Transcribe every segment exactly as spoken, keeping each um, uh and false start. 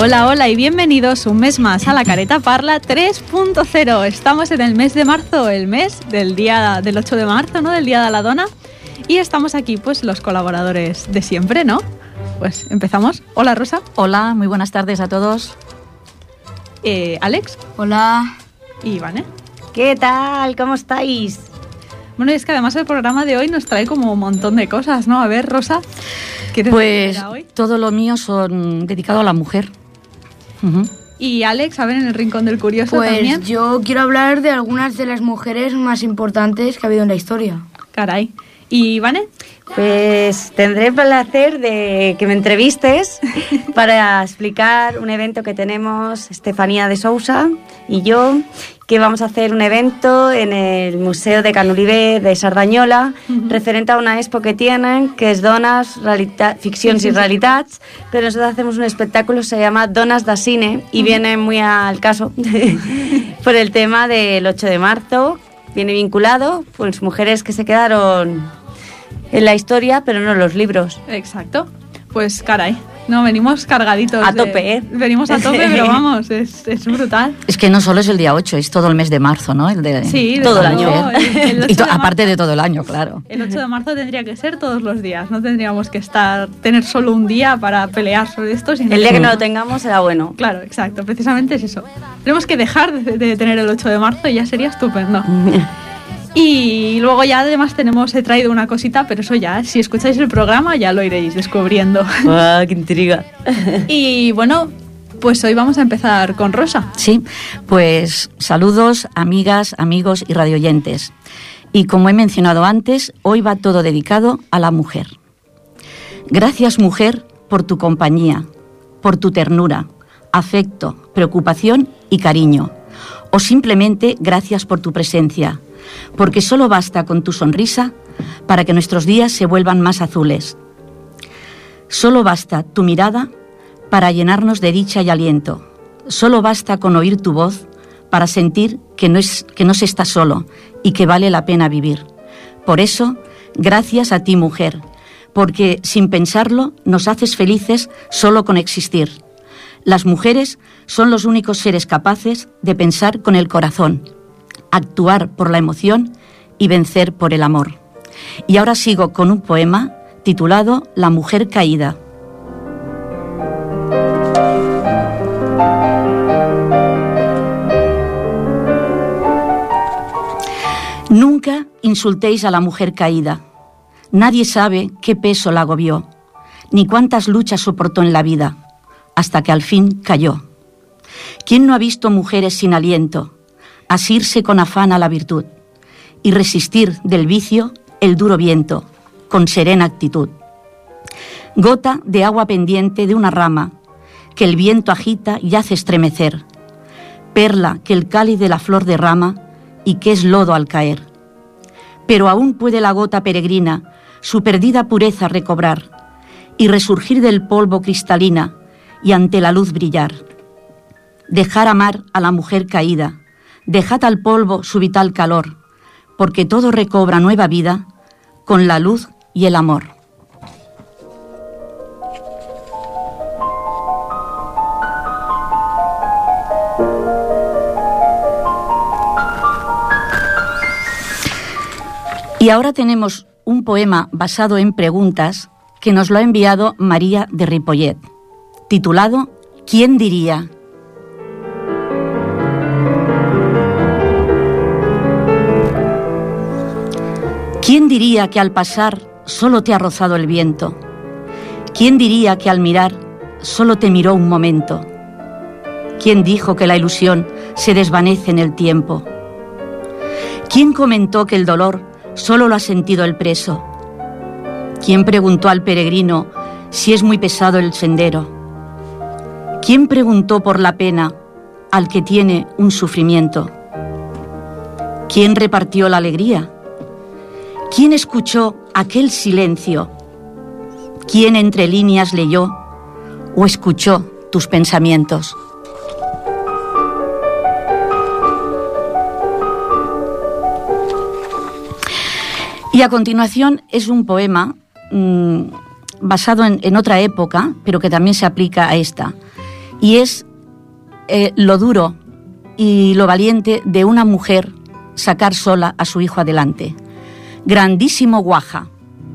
Hola, hola y bienvenidos un mes más a La Careta Parla tres punto cero. Estamos en el mes de marzo, el mes del día del ocho de marzo, ¿no? Del Día de la Dona. Y estamos aquí, pues, los colaboradores de siempre, ¿no? Pues empezamos. Hola, Rosa. Hola, muy buenas tardes a todos. Eh, Alex. Hola. Y Ivane. ¿Qué tal? ¿Cómo estáis? Bueno, y es que además el programa de hoy nos trae como un montón de cosas, ¿no? A ver, Rosa, ¿quieres Pues hoy? todo lo mío son dedicado a la mujer. Uh-huh. Y Alex, a ver, en el Rincón del Curioso pues también. Pues yo quiero hablar de algunas de las mujeres más importantes que ha habido en la historia. Caray. ¿Y Ivane? Pues tendré el placer de que me entrevistes para explicar un evento que tenemos Estefanía de Sousa y yo, que vamos a hacer un evento en el Museo de Canuribe de Sardañola, uh-huh. referente a una expo que tienen, que es Donas, realita- Ficcions sí, sí, i Realitats, sí. Pero nosotros hacemos un espectáculo que se llama Donas da Cine y uh-huh. viene muy al caso por el tema del ocho de marzo, viene vinculado, pues mujeres que se quedaron en la historia, pero no en los libros. Exacto. Pues caray, no, venimos cargaditos. A de, tope, ¿eh? Venimos a tope, pero vamos, es, es brutal. Es que no solo es el día ocho, es todo el mes de marzo, ¿no? El de, sí, todo el año. año. El, el y to, de aparte de todo el año, claro. El ocho de marzo tendría que ser todos los días, no tendríamos que estar tener solo un día para pelear sobre esto. Sino el día que no lo tengamos será bueno. Claro, exacto, precisamente es eso. Tenemos que dejar de, de tener el ocho de marzo y ya sería estupendo. Y luego ya además tenemos, he traído una cosita, pero eso ya, si escucháis el programa ya lo iréis descubriendo. ¡Ah, qué intriga! Y bueno, pues hoy vamos a empezar con Rosa. Sí, pues saludos, amigas, amigos y radioyentes. Y como he mencionado antes, hoy va todo dedicado a la mujer. Gracias, mujer, por tu compañía, por tu ternura, afecto, preocupación y cariño. O simplemente gracias por tu presencia, porque solo basta con tu sonrisa para que nuestros días se vuelvan más azules. Solo basta tu mirada para llenarnos de dicha y aliento. Solo basta con oír tu voz para sentir que no es, que no se está solo y que vale la pena vivir. Por eso, gracias a ti, mujer, porque sin pensarlo nos haces felices solo con existir. Las mujeres son los únicos seres capaces de pensar con el corazón, actuar por la emoción y vencer por el amor. Y ahora sigo con un poema titulado La mujer caída. Nunca insultéis a la mujer caída. Nadie sabe qué peso la agobió, ni cuántas luchas soportó en la vida, hasta que al fin cayó. ¿Quién no ha visto mujeres sin aliento asirse con afán a la virtud y resistir del vicio el duro viento con serena actitud? Gota de agua pendiente de una rama que el viento agita y hace estremecer, perla que el cáliz de la flor derrama y que es lodo al caer. Pero aún puede la gota peregrina su perdida pureza recobrar y resurgir del polvo cristalina y ante la luz brillar. Dejar amar a la mujer caída, dejad al polvo su vital calor, porque todo recobra nueva vida con la luz y el amor. Y ahora tenemos un poema basado en preguntas que nos lo ha enviado María de Ripollet, titulado ¿Quién diría? ¿Quién diría que al pasar solo te ha rozado el viento? ¿Quién diría que al mirar solo te miró un momento? ¿Quién dijo que la ilusión se desvanece en el tiempo? ¿Quién comentó que el dolor solo lo ha sentido el preso? ¿Quién preguntó al peregrino si es muy pesado el sendero? ¿Quién preguntó por la pena al que tiene un sufrimiento? ¿Quién repartió la alegría? ¿Quién escuchó aquel silencio? ¿Quién entre líneas leyó o escuchó tus pensamientos? Y a continuación es un poema mmm, basado en, en otra época, pero que también se aplica a esta, Y es eh, lo duro y lo valiente de una mujer sacar sola a su hijo adelante. Grandísimo Guaja.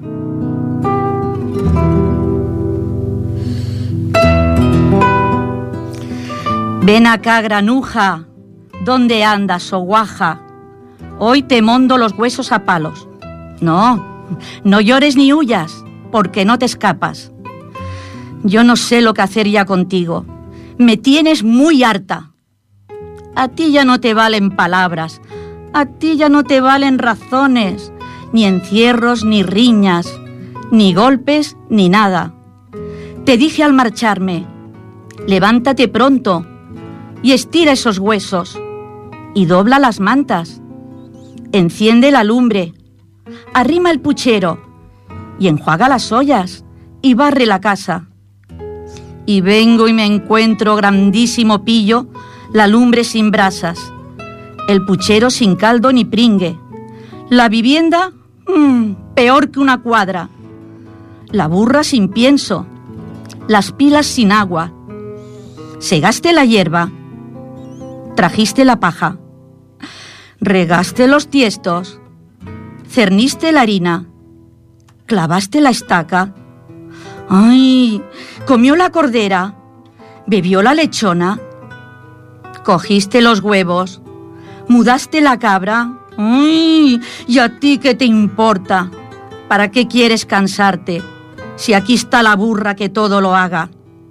Ven acá, granuja, ¿dónde andas, oh Guaja? Hoy te mondo los huesos a palos. No, no llores ni huyas, porque no te escapas. Yo no sé lo que hacer ya contigo. Me tienes muy harta. A ti ya no te valen palabras, a ti ya no te valen razones, ni encierros, ni riñas, ni golpes, ni nada. Te dije al marcharme, levántate pronto y estira esos huesos y dobla las mantas. Enciende la lumbre, arrima el puchero y enjuaga las ollas y barre la casa. Y vengo y me encuentro, grandísimo pillo, la lumbre sin brasas, el puchero sin caldo ni pringue, la vivienda mmm, peor que una cuadra, la burra sin pienso, las pilas sin agua. Segaste la hierba, trajiste la paja, regaste los tiestos, cerniste la harina, clavaste la estaca. ¡Ay! Comió la cordera, bebió la lechona, cogiste los huevos, mudaste la cabra. ¡Ay! ¿Y a ti qué te importa? ¿Para qué quieres cansarte si aquí está la burra que todo lo haga?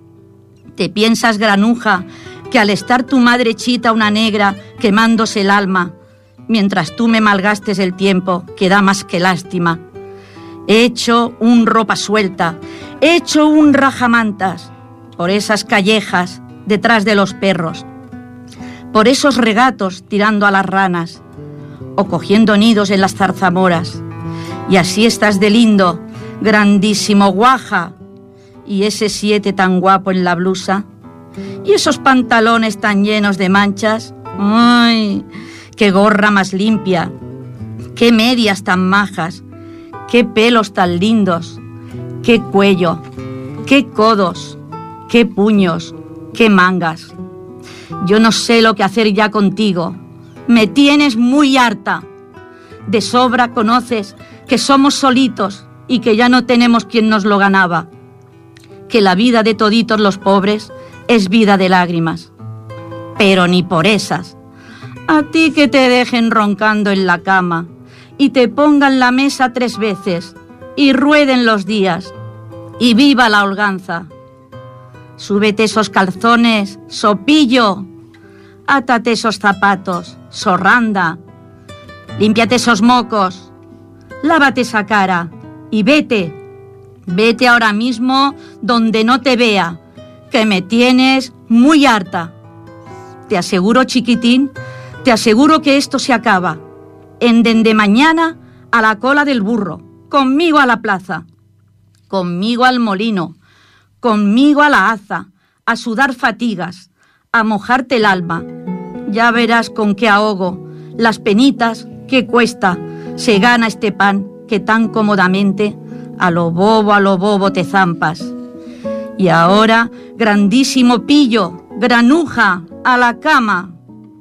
¿Te piensas, granuja, que al estar tu madre chita una negra quemándose el alma, mientras tú me malgastes el tiempo, que da más que lástima? He hecho un ropa suelta, he hecho un rajamantas por esas callejas detrás de los perros, por esos regatos tirando a las ranas o cogiendo nidos en las zarzamoras. Y así estás de lindo, grandísimo Guaja, y ese siete tan guapo en la blusa, y esos pantalones tan llenos de manchas. ¡Ay! ¡Qué gorra más limpia! ¡Qué medias tan majas! ¡Qué pelos tan lindos! ¡Qué cuello! ¡Qué codos! ¡Qué puños! ¡Qué mangas! Yo no sé lo que hacer ya contigo. Me tienes muy harta. De sobra conoces que somos solitos y que ya no tenemos quien nos lo ganaba. Que la vida de toditos los pobres es vida de lágrimas. Pero ni por esas. A ti que te dejen roncando en la cama y te pongan la mesa tres veces y rueden los días y viva la holganza. Súbete esos calzones, sopillo, átate esos zapatos, sorranda, límpiate esos mocos, lávate esa cara y vete, vete ahora mismo donde no te vea, que me tienes muy harta. Te aseguro, chiquitín, te aseguro que esto se acaba. En dende mañana a la cola del burro, conmigo a la plaza, conmigo al molino, conmigo a la haza, a sudar fatigas, a mojarte el alma. Ya verás con qué ahogo, las penitas, qué cuesta, se gana este pan que tan cómodamente a lo bobo, a lo bobo te zampas. Y ahora, grandísimo pillo, granuja, a la cama.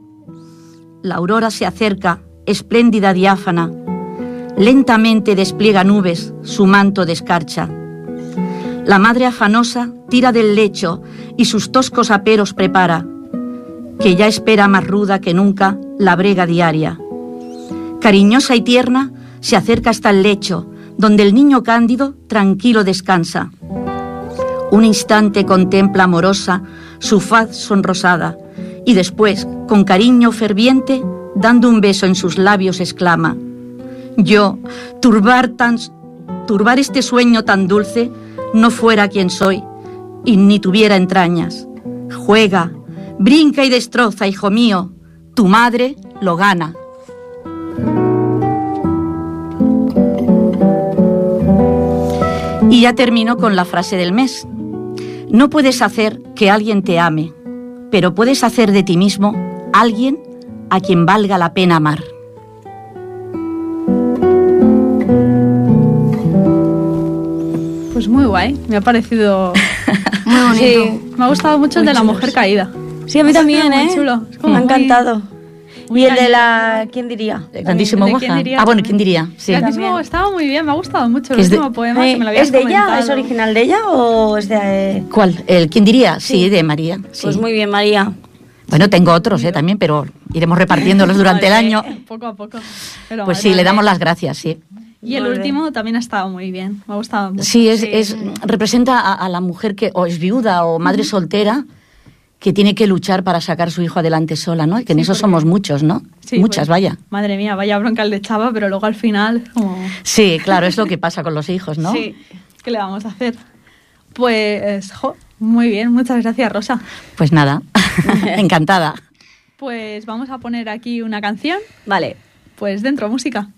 La aurora se acerca, espléndida diáfana, lentamente despliega nubes, su manto de escarcha. La madre afanosa tira del lecho y sus toscos aperos prepara, que ya espera más ruda que nunca la brega diaria. Cariñosa y tierna se acerca hasta el lecho, donde el niño cándido tranquilo descansa. Un instante contempla amorosa su faz sonrosada y después, con cariño ferviente, dando un beso en sus labios, exclama: yo, turbar, tan, turbar este sueño tan dulce, no fuera quien soy y ni tuviera entrañas. Juega, brinca y destroza, hijo mío, tu madre lo gana. Y ya termino con la frase del mes. No puedes hacer que alguien te ame, pero puedes hacer de ti mismo alguien a quien valga la pena amar. Pues muy guay, me ha parecido Muy bonito. Sí. Me ha gustado mucho el de la mujer caída. Sí, a mí también, Muy ¿eh? chulo. Es como Me ha muy- encantado. muy Y el de cañero. la... ¿Quién diría? El grandísimo ¿De Goja. quién diría Ah, bueno, también? ¿quién diría? Sí. Grandísimo También. estaba muy bien, me ha gustado mucho el Que es de- último poema Eh, que me lo habías ¿Es de ella? comentado. ¿Es original de ella o es de...? ¿Cuál? ¿El quién diría? Sí, de María. Sí. Pues muy bien, María. Bueno, tengo otros eh, también, pero iremos repartiéndolos durante el Vale. año. Poco a poco. Pero Pues madre sí, le damos mía. las gracias, sí. Y el Muy bien. último también ha estado muy bien, me ha gustado mucho. Sí, es, es representa a, a la mujer que o es viuda o madre soltera que tiene que luchar para sacar a su hijo adelante sola, ¿no? Y que en Sí, eso porque- somos muchos, ¿no? Sí, Muchas, pues, vaya. Madre mía, vaya bronca el de Chava, pero luego al final, como, Sí, claro, es lo que pasa con los hijos, ¿no? Sí. ¿qué le vamos a hacer? Pues, jo, muy bien, muchas gracias, Rosa. Pues nada, encantada. Pues vamos a poner aquí una canción, Vale. pues dentro música.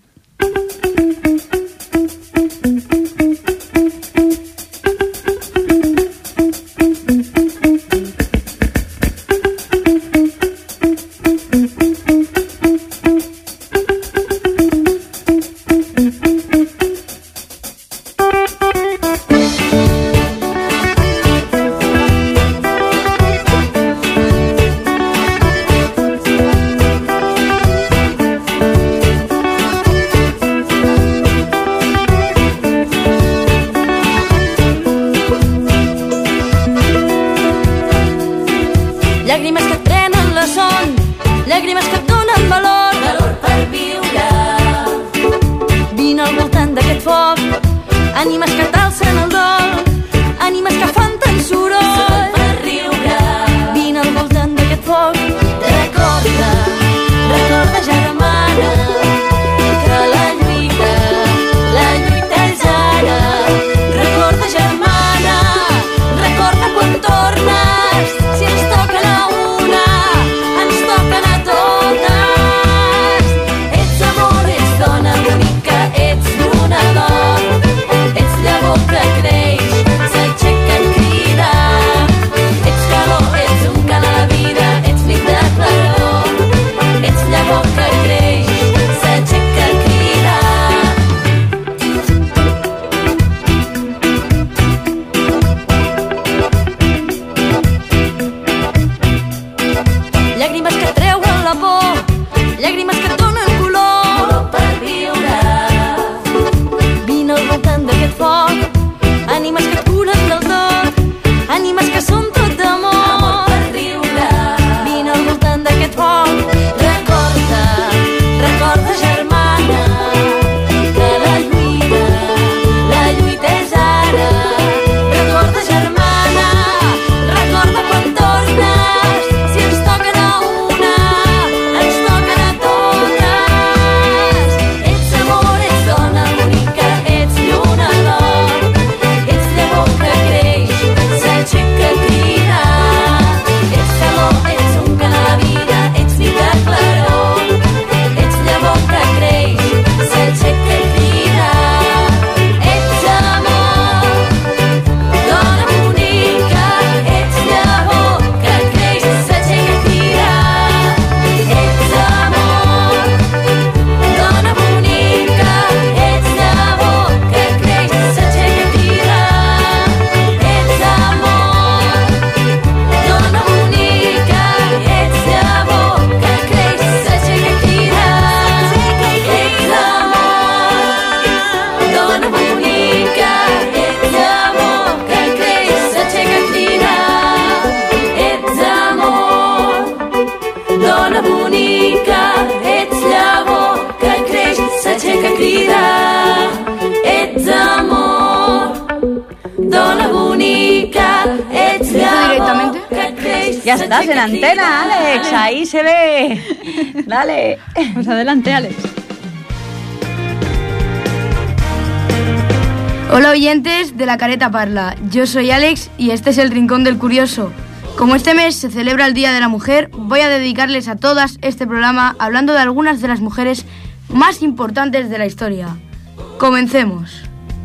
Llàgrimes que et prenen la son, llàgrimes que et donen valor, valor per viure. Vine al voltant d'aquest foc, ànimes que t'alcen el dol, ànimes que fan tant soroll, soroll per riure. Vine al voltant d'aquest foc, recorda, recorda germana, que la lluita, la lluita és ara. Recorda germana, recorda quan tornes, si ens toquen a una, ens toquen a totes. Ets amor, ets dona bonica, ets lluna d'or, ets llavor que creix, s'aixeca en crida. Ets calor, ets un cant a la vida, ets nit de claror, ets llavor que creix, s'aixeca en crida. Llàgrimes que et treuen la por, llàgrimes que et donen color, color per viure. Vine al voltant d'aquest foc, ànimes que et curen del tot, ànimes que són tot d'amor, amor per riure. Vine al voltant d'aquest foc, recorda, recorda germana, que la lluita, la lluita és ara. Recorda germana, recorda quan tornes, si ens toquen a una, ens toquen a totes. Ets amor, ets dona bonica, ets lluna d'or, ets llavor que creix, s'aixeca a cridar. Ets calor, ets un cant a la vida, ets nit de claror, ets llavor que creix, s'aixeca a cridar. Ets amor, dona bonica, ets llavor que creix, s'aixeca a cridar. Ets amor, dona bonica, ets llavor que creix, s'aixeca a cridar. Ets amor, dona bonica, ets llavor que creix, s'aixeca a cridar. Ets amor, dona bonica, ets llavor que creix, s'aixeca a cridar. Ets amor, dona bonica, ets llavor que creix, s'aixeca a cridar. Ets amor, dona bonica, ets llavor que creix, Ya estás en antena, Alex. Ahí se ve. Dale. Pues adelante, Alex. Hola oyentes de La Careta Parla, yo soy Alex y este es el Rincón del Curioso. Como este mes se celebra el Día de la Mujer, voy a dedicarles a todas este programa hablando de algunas de las mujeres más importantes de la historia. Comencemos.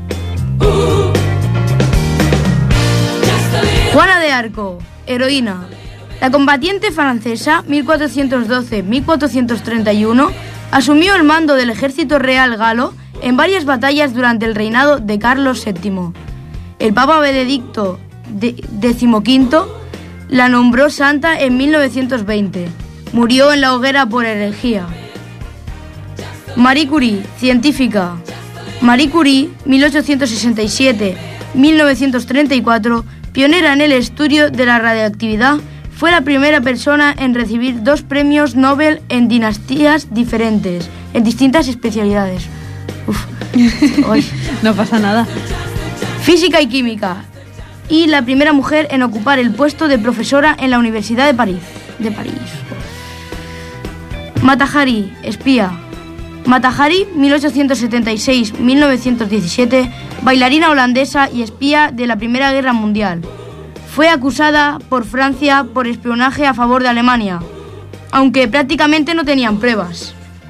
Juana de Arco, heroína. La combatiente francesa mil cuatrocientos doce a mil cuatrocientos treinta y uno asumió el mando del ejército real galo en varias batallas durante el reinado de Carlos séptimo. El Papa Benedicto de- decimoquinto la nombró santa en mil novecientos veinte. Murió en la hoguera por herejía. Marie Curie, científica. Marie Curie, mil ochocientos sesenta y siete a mil novecientos treinta y cuatro, pionera en el estudio de la radioactividad, fue la primera persona en recibir dos premios Nobel en dinastías diferentes, en distintas especialidades. Uf. Ay. No pasa nada. Física y química. Y la primera mujer en ocupar el puesto de profesora en la Universidad de París. De París. Mata Hari, espía. Mata Hari, mil ochocientos setenta y seis a mil novecientos diecisiete, bailarina holandesa y espía de la Primera Guerra Mundial. Fue acusada por Francia por espionaje a favor de Alemania, aunque prácticamente no tenían pruebas.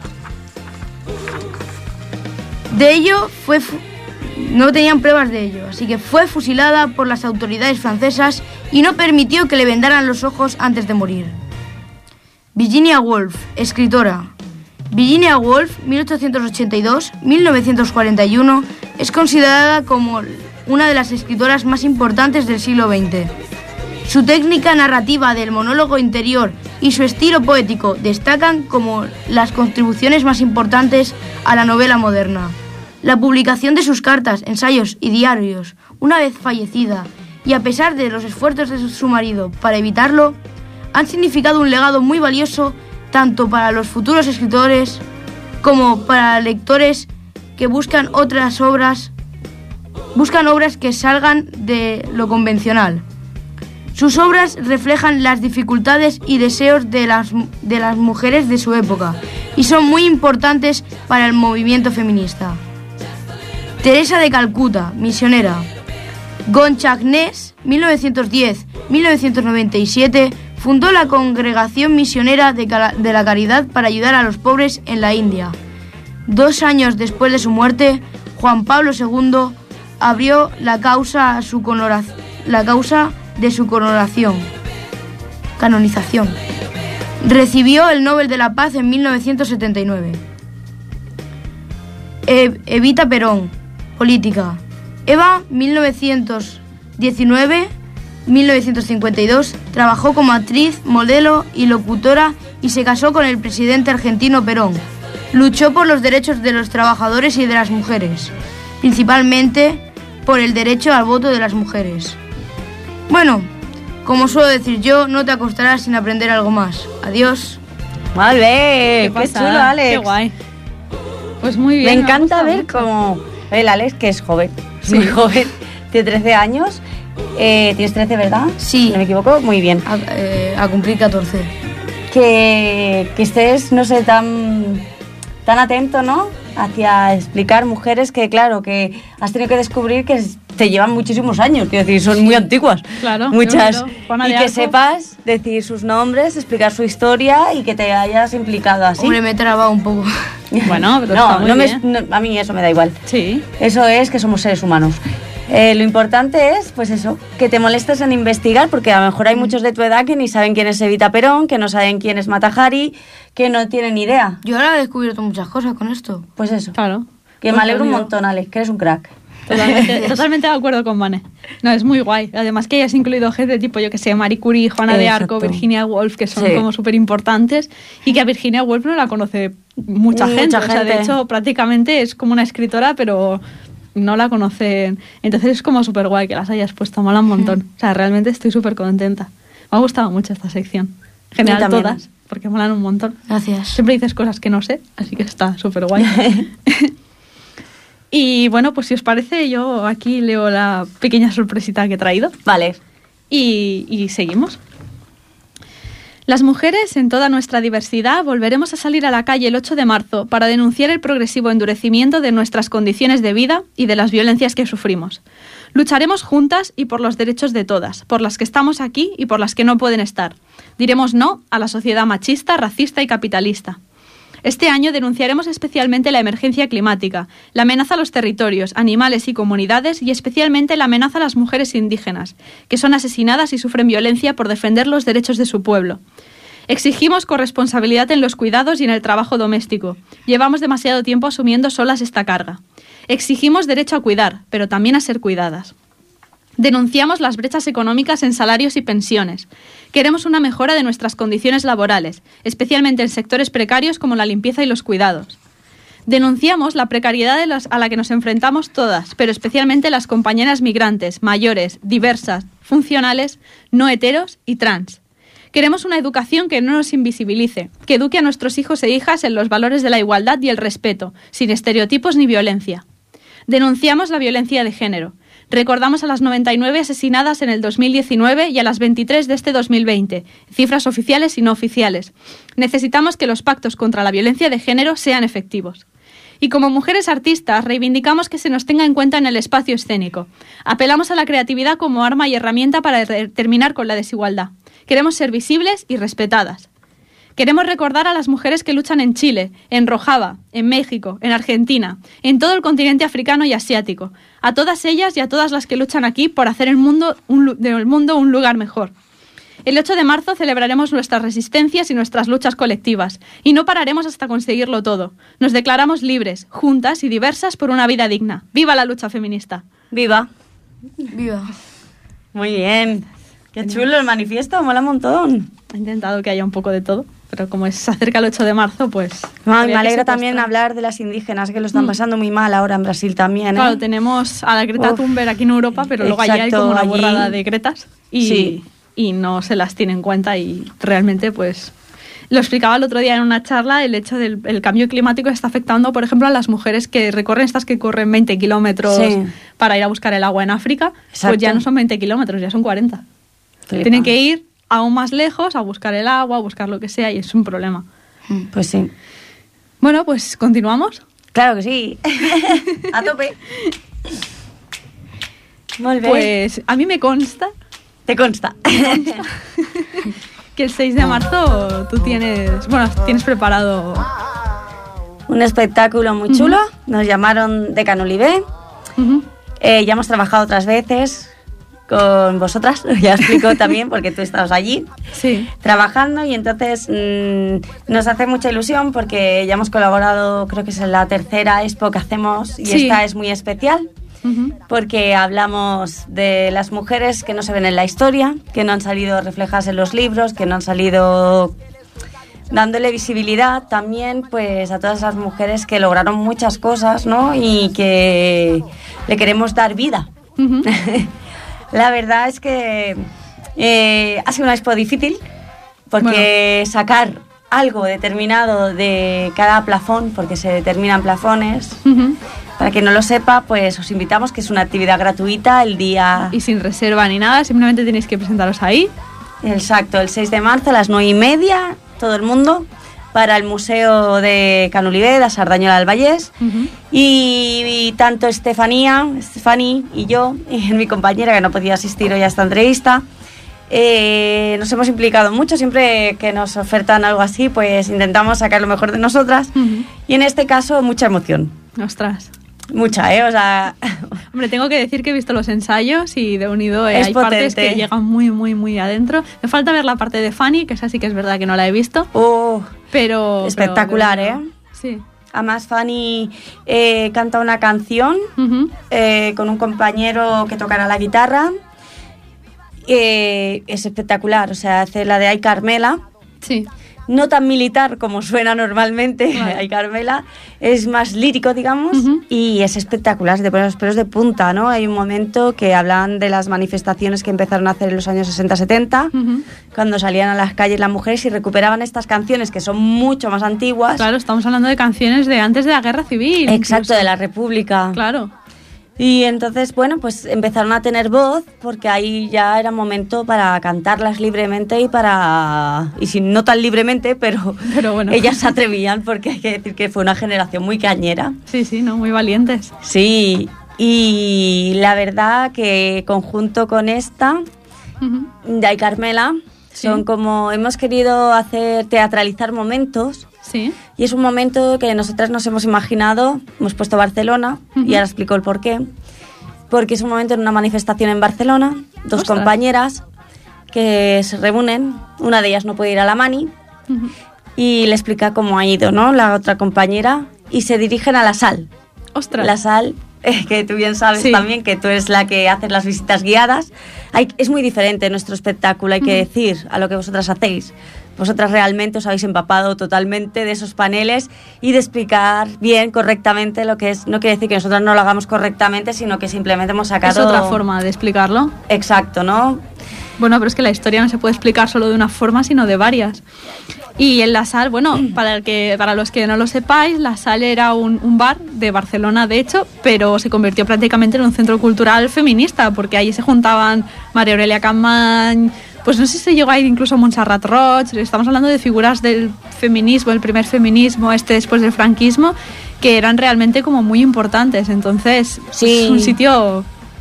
De ello fue fu- no tenían pruebas de ello, así que fue fusilada por las autoridades francesas y no permitió que le vendaran los ojos antes de morir. Virginia Woolf, escritora. Virginia Woolf, mil ochocientos ochenta y dos a mil novecientos cuarenta y uno, es considerada como una de las escritoras más importantes del siglo veinte. Su técnica narrativa del monólogo interior y su estilo poético destacan como las contribuciones más importantes a la novela moderna. La publicación de sus cartas, ensayos y diarios, una vez fallecida, y a pesar de los esfuerzos de su marido para evitarlo, han significado un legado muy valioso tanto para los futuros escritores como para lectores que buscan otras obras, buscan obras que salgan de lo convencional. Sus obras reflejan las dificultades y deseos de las, de las mujeres de su época y son muy importantes para el movimiento feminista. Teresa de Calcuta, misionera. Gonchak Ness, mil novecientos diez a mil novecientos noventa y siete, fundó la Congregación Misionera de, Cala- de la Caridad para ayudar a los pobres en la India. Dos años después de su muerte, Juan Pablo segundo abrió la causa, a su conora- la causa de su coronación, canonización. Recibió el Nobel de la Paz en mil novecientos setenta y nueve. E- Evita Perón, política. Eva, mil novecientos diecinueve a mil novecientos cincuenta y dos, trabajó como actriz, modelo y locutora y se casó con el presidente argentino Perón. Luchó por los derechos de los trabajadores y de las mujeres, principalmente por el derecho al voto de las mujeres. Bueno, como suelo decir yo, no te acostarás sin aprender algo más. Adiós. Vale, qué, pasada, chulo, Alex. Qué guay. Pues muy bien. Me ha encanta gustado ver mucho. cómo el Alex, que es joven, muy joven, tiene trece años. Eh, tienes trece, ¿verdad? Sí. Si no me equivoco, muy bien. A, eh, a cumplir catorce. Que, que estés, no sé, tan, tan atento, ¿no? Hacia explicar mujeres que, claro, que has tenido que descubrir que te llevan muchísimos años, quiero decir, son muy antiguas. Claro, muchas. yo, yo, Juana y de que Arco. sepas decir sus nombres, explicar su historia y que te hayas implicado así. Hombre, me he trabado un poco. Bueno, pero no, está muy no me- bien. no, a mí eso me da igual. Sí. Eso es que somos seres humanos. Eh, lo importante es, pues eso, que te molestes en investigar, porque a lo mejor hay muchos de tu edad que ni saben quién es Evita Perón, que no saben quién es Mata Hari, que no tienen ni idea. Yo ahora he descubierto muchas cosas con esto. Pues eso. Claro. Que me Pues alegro un yo- montón, Alex, que eres un crack. Totalmente, totalmente de acuerdo con Vane. No, es muy guay. Además que hayas incluido gente tipo, yo que sé, Marie Curie, Juana de Arco, Exacto. Virginia Woolf, que son Sí. como súper importantes, y que a Virginia Woolf no la conoce mucha, Mucha gente. O sea, de gente. hecho, prácticamente es como una escritora, pero no la conocen. Entonces es como súper guay que las hayas puesto, mola un montón. O sea, realmente estoy súper contenta. Me ha gustado mucho esta sección. En general también. todas, porque molan un montón. Gracias. Siempre dices cosas que no sé, así que está súper guay. Y bueno, pues si os parece, yo aquí leo la pequeña sorpresita que he traído Vale. y, y seguimos. Las mujeres, en toda nuestra diversidad, volveremos a salir a la calle el ocho de marzo para denunciar el progresivo endurecimiento de nuestras condiciones de vida y de las violencias que sufrimos. Lucharemos juntas y por los derechos de todas, por las que estamos aquí y por las que no pueden estar. Diremos no a la sociedad machista, racista y capitalista. Este año denunciaremos especialmente la emergencia climática, la amenaza a los territorios, animales y comunidades y especialmente la amenaza a las mujeres indígenas, que son asesinadas y sufren violencia por defender los derechos de su pueblo. Exigimos corresponsabilidad en los cuidados y en el trabajo doméstico. Llevamos demasiado tiempo asumiendo solas esta carga. Exigimos derecho a cuidar, pero también a ser cuidadas. Denunciamos las brechas económicas en salarios y pensiones. Queremos una mejora de nuestras condiciones laborales, especialmente en sectores precarios como la limpieza y los cuidados. Denunciamos la precariedad de las, a la que nos enfrentamos todas, pero especialmente las compañeras migrantes, mayores, diversas, funcionales, no heteros y trans. Queremos una educación que no nos invisibilice, que eduque a nuestros hijos e hijas en los valores de la igualdad y el respeto, sin estereotipos ni violencia. Denunciamos la violencia de género. Recordamos a las noventa y nueve asesinadas en el dos mil diecinueve y a las veintitrés de este dos mil veinte, cifras oficiales y no oficiales. Necesitamos que los pactos contra la violencia de género sean efectivos. Y como mujeres artistas reivindicamos que se nos tenga en cuenta en el espacio escénico. Apelamos a la creatividad como arma y herramienta para terminar con la desigualdad. Queremos ser visibles y respetadas. Queremos recordar a las mujeres que luchan en Chile, en Rojava, en México, en Argentina, en todo el continente africano y asiático. A todas ellas y a todas las que luchan aquí por hacer el mundo un, del mundo un lugar mejor. El ocho de marzo celebraremos nuestras resistencias y nuestras luchas colectivas. Y no pararemos hasta conseguirlo todo. Nos declaramos libres, juntas y diversas por una vida digna. ¡Viva la lucha feminista! ¡Viva! ¡Viva! Muy bien. Qué chulo el manifiesto, mola un montón. He intentado que haya un poco de todo. Pero como se acerca el ocho de marzo, pues... Ay, me alegra también hablar de las indígenas, que lo están pasando muy mal ahora en Brasil también, ¿eh? Claro, tenemos a la Greta Uf. Thunberg aquí en Europa, pero luego Exacto, allí hay como una allí- borrada de Gretas y, Sí. y no se las tiene en cuenta y realmente, pues... Lo explicaba el otro día en una charla, el hecho del el cambio climático está afectando, por ejemplo, a las mujeres que recorren, estas que corren veinte kilómetros Sí. para ir a buscar el agua en África, Exacto. pues ya no son veinte kilómetros, ya son cuarenta. Flipas. Tienen que ir aún más lejos a buscar el agua, a buscar lo que sea y es un problema. Pues sí. Bueno, pues continuamos. Claro que sí. A tope. Molt bé. Pues a mí me consta Te consta. que el seis de marzo tú tienes, bueno, tienes preparado... Un espectáculo muy chulo. Nos llamaron de Canolibé. Ujú. Eh, ya hemos trabajado otras veces con vosotras. Ya explico también porque tú estabas allí Sí. trabajando y entonces mmm, nos hace mucha ilusión porque ya hemos colaborado, creo que es la tercera expo que hacemos y Sí. esta es muy especial. Ujú. Porque hablamos de las mujeres que no se ven en la historia, que no han salido reflejadas en los libros, que no han salido dándole visibilidad también pues a todas las mujeres que lograron muchas cosas, ¿no? Y que le queremos dar vida. Ujú. La verdad es que eh, ha sido una expo difícil porque sacar algo determinado de cada plafón, porque se determinan plafones. Ujú. Para quien no lo sepa, pues os invitamos, que es una actividad gratuita el día... Y sin reserva ni nada, simplemente tenéis que presentaros ahí. Exacto, el seis de marzo a las nueve y media, todo el mundo, para el Museo de Canolibé, de Sardañola del Vallès. Ujú. Y, y tanto Estefanía, Estefani y yo, y mi compañera que no podía asistir hoy a esta entrevista, eh, nos hemos implicado mucho. Siempre que nos ofertan algo así, pues intentamos sacar lo mejor de nosotras. Ujú. Y en este caso, mucha emoción. Ostras. Mucha, ¿eh? O sea... Hombre, tengo que decir que he visto los ensayos y de unido eh, Es hay partes potente. que llegan muy, muy, muy adentro. Me falta ver la parte de Fanny, que esa sí que es verdad que no la he visto, Uh, pero... Espectacular, pero de ¿eh? unido- Sí. además, Fanny eh, canta una canción Ujú. eh, con un compañero que tocará la guitarra. Eh, es espectacular, o sea, hace la de Ay Carmela. Sí. No tan militar como suena normalmente, Vale. Ay Carmela, es más lírico, digamos, Ujú. y es espectacular, de poner los pelos de punta, ¿no? Hay un momento que hablan de las manifestaciones que empezaron a hacer en los años sesenta setenta, Ujú. cuando salían a las calles las mujeres y recuperaban estas canciones que son mucho más antiguas. Claro, estamos hablando de canciones de antes de la Guerra Civil. Exacto, incluso. de la República. Claro. Y entonces, bueno, pues empezaron a tener voz porque ahí ya era momento para cantarlas libremente y para... Y si no tan libremente, pero, Pero bueno. ellas se atrevían porque hay que decir que fue una generación muy cañera. Sí, sí, ¿no? Muy valientes. Sí, y la verdad que conjunto con esta, Ujú. de Ay Carmela, Sí. son como... Hemos querido hacer teatralizar momentos. Sí. Y es un momento que nosotras nos hemos imaginado, hemos puesto Barcelona, Ujú. y ahora explico el por qué. Porque es un momento en una manifestación en Barcelona, dos Ostras. compañeras que se reúnen, una de ellas no puede ir a la mani, Ujú. y le explica cómo ha ido, ¿no? La otra compañera, y se dirigen a la sal. Ostras. La sal eh, que tú bien sabes Sí. también que tú eres la que hace las visitas guiadas. Hay, es muy diferente nuestro espectáculo, hay que decir, a lo que vosotras hacéis. Vosotras realmente os habéis empapado totalmente de esos paneles y de explicar bien, correctamente lo que es. No quiere decir que nosotros no lo hagamos correctamente, sino que simplemente hemos sacado... Es otra forma de explicarlo. Exacto, ¿no? Bueno, pero es que la historia no se puede explicar solo de una forma, sino de varias. Y en la sal, bueno, para el que para los que no lo sepáis, la sal era un, un bar de Barcelona, de hecho, pero se convirtió prácticamente en un centro cultural feminista, porque ahí se juntaban María Aurelia Capmany, pues no sé si se llegó a ir incluso Montserrat Roig. Estamos hablando de figuras del feminismo, el primer feminismo, este después del franquismo, que eran realmente como muy importantes. Entonces, Sí. es un sitio...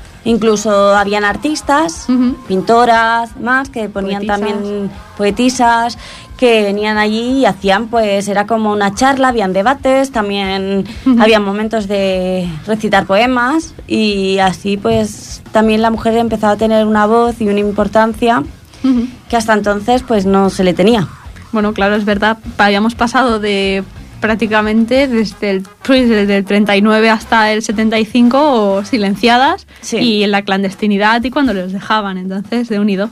Incluso habían artistas, Ujú. pintoras, más que ponían Poetisas. también poetisas que venían allí y hacían, pues era como una charla, habían debates, también Ujú. había momentos de recitar poemas y así pues también la mujer empezaba a tener una voz y una importancia Ujú. que hasta entonces pues no se le tenía. Bueno, claro, es verdad, habíamos pasado de prácticamente desde el, pues, desde el treinta y nueve hasta el setenta y cinco silenciadas Sí. y en la clandestinidad y cuando los dejaban, entonces de unido.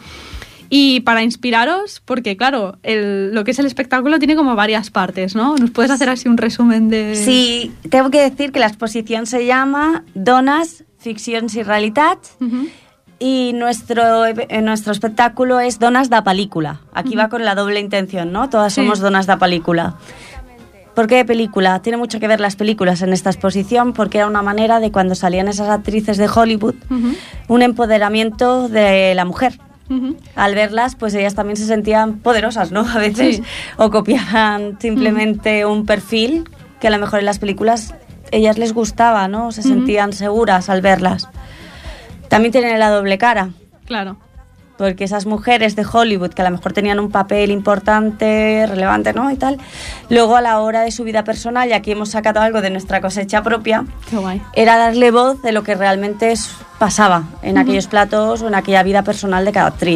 Y para inspiraros, porque claro, el- lo que es el espectáculo tiene como varias partes, ¿no? ¿Nos puedes hacer así un resumen de...? Sí, tengo que decir que la exposición se llama Dones, Ficcions i Realitats. Ujú. Y nuestro, eh, nuestro espectáculo es Donas da Película. Aquí va con la doble intención, ¿no? Todas Sí. somos donas da película. ¿Por qué película? Tiene mucho que ver las películas en esta exposición porque era una manera de cuando salían esas actrices de Hollywood, Ujú. un empoderamiento de la mujer. Ujú. Al verlas, pues ellas también se sentían poderosas, ¿no? A veces. Sí. O copiaban simplemente un perfil que a lo mejor en las películas ellas les gustaba, ¿no? Se Ujú. sentían seguras al verlas. También tienen la doble cara, Claro. porque esas mujeres de Hollywood que a lo mejor tenían un papel importante, relevante, ¿no? Y tal, luego a la hora de su vida personal, y aquí hemos sacado algo de nuestra cosecha propia, Qué guay. era darle voz de lo que realmente es- pasaba en Ujú. aquellos platos o en aquella vida personal de cada actriz.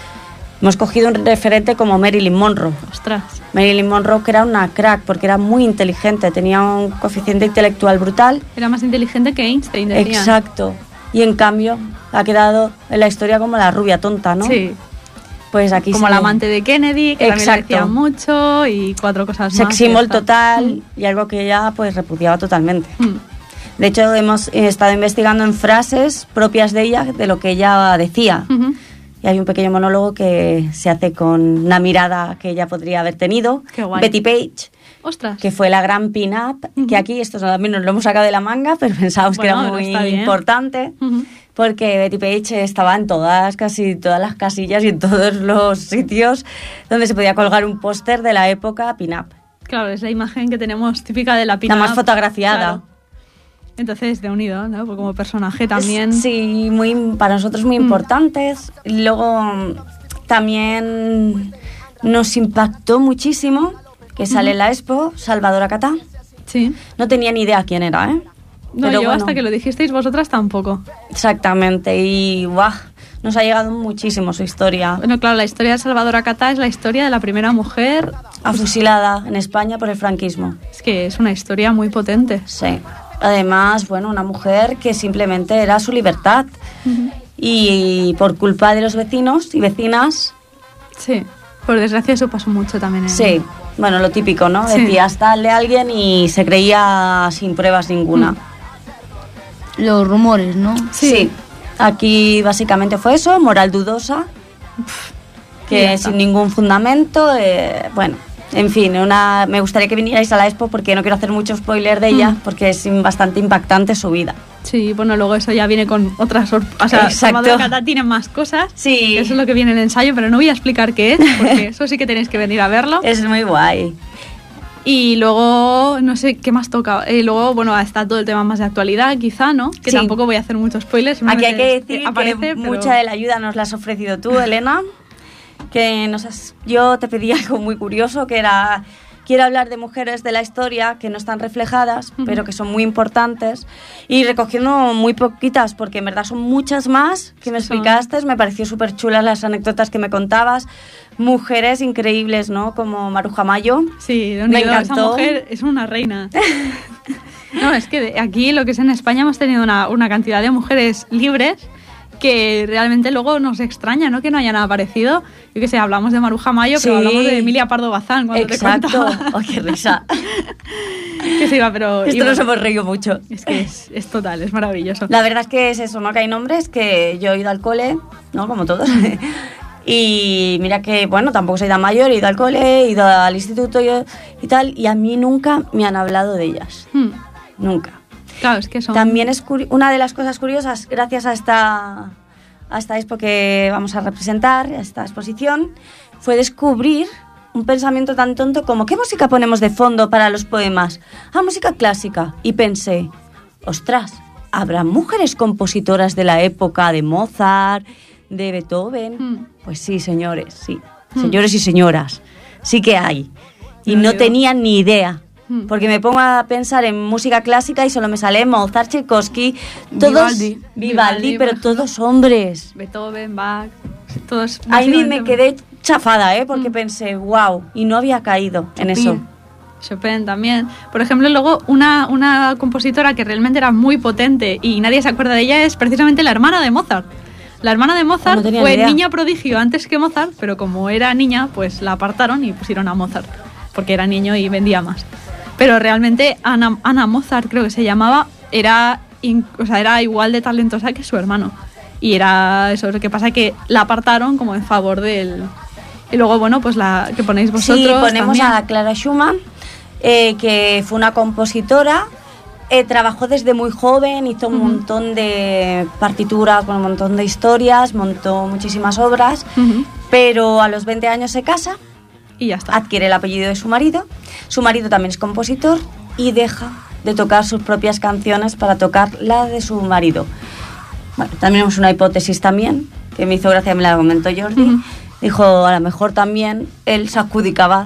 Hemos cogido un referente como Marilyn Monroe. Ostras. Marilyn Monroe, que era una crack, porque era muy inteligente, tenía un coeficiente intelectual brutal. Era más inteligente que Einstein, decían. Exacto. Y en cambio ha quedado en la historia como la rubia tonta, ¿no? Sí. Pues aquí Como se la ve. amante de Kennedy, que también le Exacto. decían mucho, y cuatro cosas más. Sex que symbol está. total y algo que ella pues repudiaba totalmente. Mm. De hecho, hemos eh, estado investigando en frases propias de ella, de lo que ella decía. Ujú. Y hay un pequeño monólogo que se hace con una mirada que ella podría haber tenido. Qué guay. Betty Page, Ostras. que fue la gran pin-up, Ujú. que aquí esto también nos lo hemos sacado de la manga, pero pensábamos Bueno, que era pero muy está bien. importante. Ujú. Porque Betty Page estaba en todas, casi todas las casillas y en todos los sitios donde se podía colgar un póster de la época pin-up. Claro, es la imagen que tenemos típica de la La pin-up. más fotografiada. Claro. Entonces, de unido, ¿no? Porque como personaje también. Sí, muy, para nosotros muy Mm. importantes. Luego mm, también nos impactó muchísimo que sale en la expo Salvador Acatá. Sí. No tenía ni idea quién era, ¿eh? No, Pero yo bueno, hasta que lo dijisteis vosotras tampoco. exactamente. Y ¡guau! Nos ha llegado muchísimo su historia. Bueno, claro, la historia de Salvador Acatá es la historia de la primera mujer. Afusilada en España por el franquismo. Es que es una historia muy potente. Sí. Además, bueno, una mujer que simplemente era su libertad. Y por culpa de los vecinos y vecinas, Sí. Por desgracia eso pasó mucho también. En... sí, bueno, lo típico, ¿no? Sí. Decías darle a alguien y se creía sin pruebas ninguna. Mm. Los rumores, ¿no? Sí. Aquí básicamente fue eso, moral dudosa, Y ya que está. sin ningún fundamento, eh, bueno, en fin, una, me gustaría que vinierais a la expo porque no quiero hacer mucho spoiler de ella, Mm. porque es bastante impactante su vida. Sí, bueno, luego eso ya viene con otras sorpresas. O sea, Exacto. Salvador Acatá tiene más cosas. Sí. Eso es lo que viene en el ensayo, pero no voy a explicar qué es, porque eso sí que tenéis que venir a verlo. Es muy guay. Y luego, no sé qué más toca. Y luego, bueno, está todo el tema más de actualidad, quizá, ¿no? Que Sí. tampoco voy a hacer muchos spoilers. Aquí hay simplemente que es decir aparece, que pero- mucha de la ayuda nos la has ofrecido tú, Elena, que nos has, yo te pedí algo muy curioso, que era, quiero hablar de mujeres de la historia que no están reflejadas, Ujú. pero que son muy importantes, y recogiendo muy poquitas, porque en verdad son muchas más que me Son- explicaste, me pareció súper chulas las anécdotas que me contabas, mujeres increíbles, ¿no? Como Maruja Mayo. Sí, de Me unido, esa encantó. mujer es una reina. No, es que de- aquí lo que es en España hemos tenido una, una cantidad de mujeres libres que realmente luego nos extraña, ¿no? Que no hayan aparecido. Yo qué sé, hablamos de Maruja Mayo, Sí. pero hablamos de Emilia Pardo Bazán cuando Exacto. te contaba. Oh, qué risa. Que se iba, pero... Esto iba- nos hemos reído mucho. Es que es, es total, es maravilloso. La verdad es que es eso, ¿no? Que hay nombres que yo he ido al cole, ¿no? Como todos. Y mira que, bueno, tampoco soy tan mayor, he ido al cole, he ido al instituto y, y tal, y a mí nunca me han hablado de ellas. Hmm. Nunca. Claro, es que son... También es curi- una de las cosas curiosas, gracias a esta, a esta expo que vamos a representar, a esta exposición, fue descubrir un pensamiento tan tonto como ¿qué música ponemos de fondo para los poemas? Ah, música clásica. Y pensé, ostras, ¿habrá mujeres compositoras de la época de Mozart, de Beethoven? Hmm. Pues sí, señores, sí. Hmm. Señores y señoras, sí que hay. Y Lo no digo. tenía ni idea. Hmm. Porque me pongo a pensar en música clásica y solo me sale Mozart, Tchaikovsky, todos Vivaldi. Vivaldi, Vivaldi, pero por ejemplo. todos hombres. Beethoven, Bach, todos... Ahí me básicamente- quedé chafada, ¿eh? Porque Mm. pensé, wow, y no había caído en eso. Chopin. Chopin también. Por ejemplo, luego una, una compositora que realmente era muy potente y nadie se acuerda de ella es precisamente la hermana de Mozart. La hermana de Mozart No tenía fue ni idea. niña prodigio antes que Mozart, pero como era niña, pues la apartaron y pusieron a Mozart, porque era niño y vendía más. Pero realmente Ana, Ana Mozart, creo que se llamaba, era, in- o sea, era igual de talentosa que su hermano. Y era eso, lo que pasa que la apartaron como en favor del... Y luego, bueno, pues la que ponéis vosotros Sí, ponemos también. a Clara Schumann, eh, que fue una compositora, eh, trabajó desde muy joven, hizo un Ujú. montón de partituras, con un montón de historias, montó muchísimas obras, Ujú. pero a los veinte años se casa, Y ya está. adquiere el apellido de su marido, su marido también es compositor y deja de tocar sus propias canciones para tocar la de su marido. Bueno, también tenemos una hipótesis también, que me hizo gracia, me la comentó Jordi. Ujú. Dijo, a lo mejor también él se adjudicaba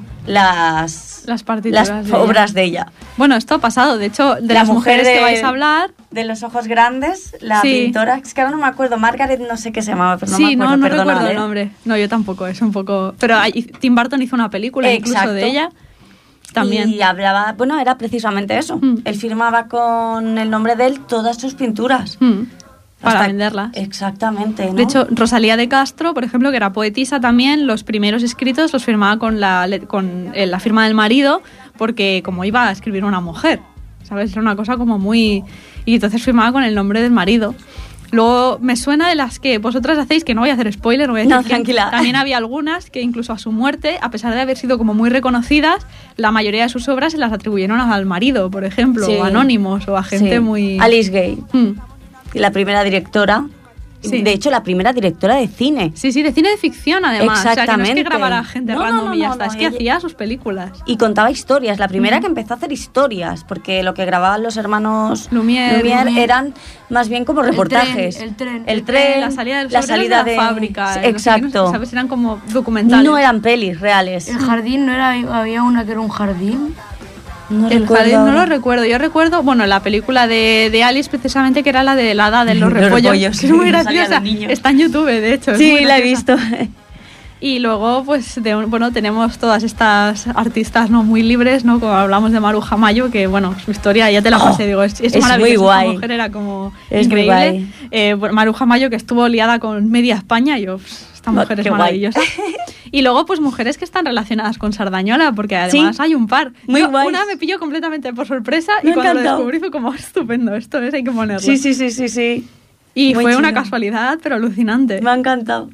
las, Las partituras las de ella. obras de ella. Bueno, esto ha pasado. De hecho, de La las mujer mujeres de- que vais a hablar... De los ojos grandes, la Sí. pintora, es que ahora no me acuerdo, Margaret no sé qué se llamaba, pero no sí, me acuerdo, no, no perdonad, recuerdo el ¿eh? nombre. No, yo tampoco, es un poco... Pero hay- Tim Burton hizo una película incluso Exacto. de ella. También. Y hablaba, bueno, era precisamente eso. Mm. Él firmaba con el nombre de él todas sus pinturas. Mm, para Hasta- venderlas. Exactamente, ¿no? De hecho, Rosalía de Castro, por ejemplo, que era poetisa también, los primeros escritos los firmaba con la, le- con eh, la firma del marido, porque como iba a escribir una mujer, ¿sabes? Era una cosa como muy... Y entonces firmaba con el nombre del marido. Luego me suena de las que vosotras hacéis, que no voy a hacer spoiler, no voy a decir No, quién. tranquila. También había algunas que incluso a su muerte, a pesar de haber sido como muy reconocidas, la mayoría de sus obras se las atribuyeron al marido, por ejemplo, Sí. o anónimos, o a gente Sí. muy... Alice Gay, Mm. la primera directora. Sí. De hecho, la primera directora de cine. Sí, sí, de cine de ficción además. O sea, que no es que Exactamente. grabara gente No, no, random no, y ya no, está, no, es que ella- hacía sus películas. Y contaba historias. La primera Ujú. que empezó a hacer historias, porque lo que grababan los hermanos Lumière, Lumière. eran más bien como reportajes. tren, el tren. El Eh, tren, la salida del la sobre salida de de la fábrica. Sí, eh, no sé qué, exacto. no sé, ¿sabes? Eran como documentales. No eran pelis reales. El jardín, ¿no era? Había una que era un jardín. No El recuerdo jardín no ahora. lo recuerdo. Yo recuerdo, bueno, la película de, de Alice precisamente, que era la de la hada de los Los repollos, repollos, que es muy sí, salían graciosa. los niños. Está en YouTube, de hecho. es Sí, muy la he graciosa. visto. Y luego, pues, de, un- bueno, tenemos todas estas artistas no muy libres, ¿no? Como hablamos de Maruja Mayo, que, bueno, su historia ya te la Oh, pasé, digo, es, es es maravillosa. muy Esta guay. mujer era como Es muy increíble. guay. Eh, bueno, Maruja Mayo, que estuvo liada con media España, y yo, pues, esta Oh, mujer es qué guay. maravillosa. Y luego, pues, mujeres que están relacionadas con Sardañola, porque además Sí, hay un par. muy Yo, guays. una me pilló completamente por sorpresa, Me y ha cuando lo encantado. descubrí fue como, estupendo, esto es, hay que ponerlo. Sí, sí, sí, sí, sí. Y Muy fue una chulo. casualidad, pero alucinante. Me ha encantado.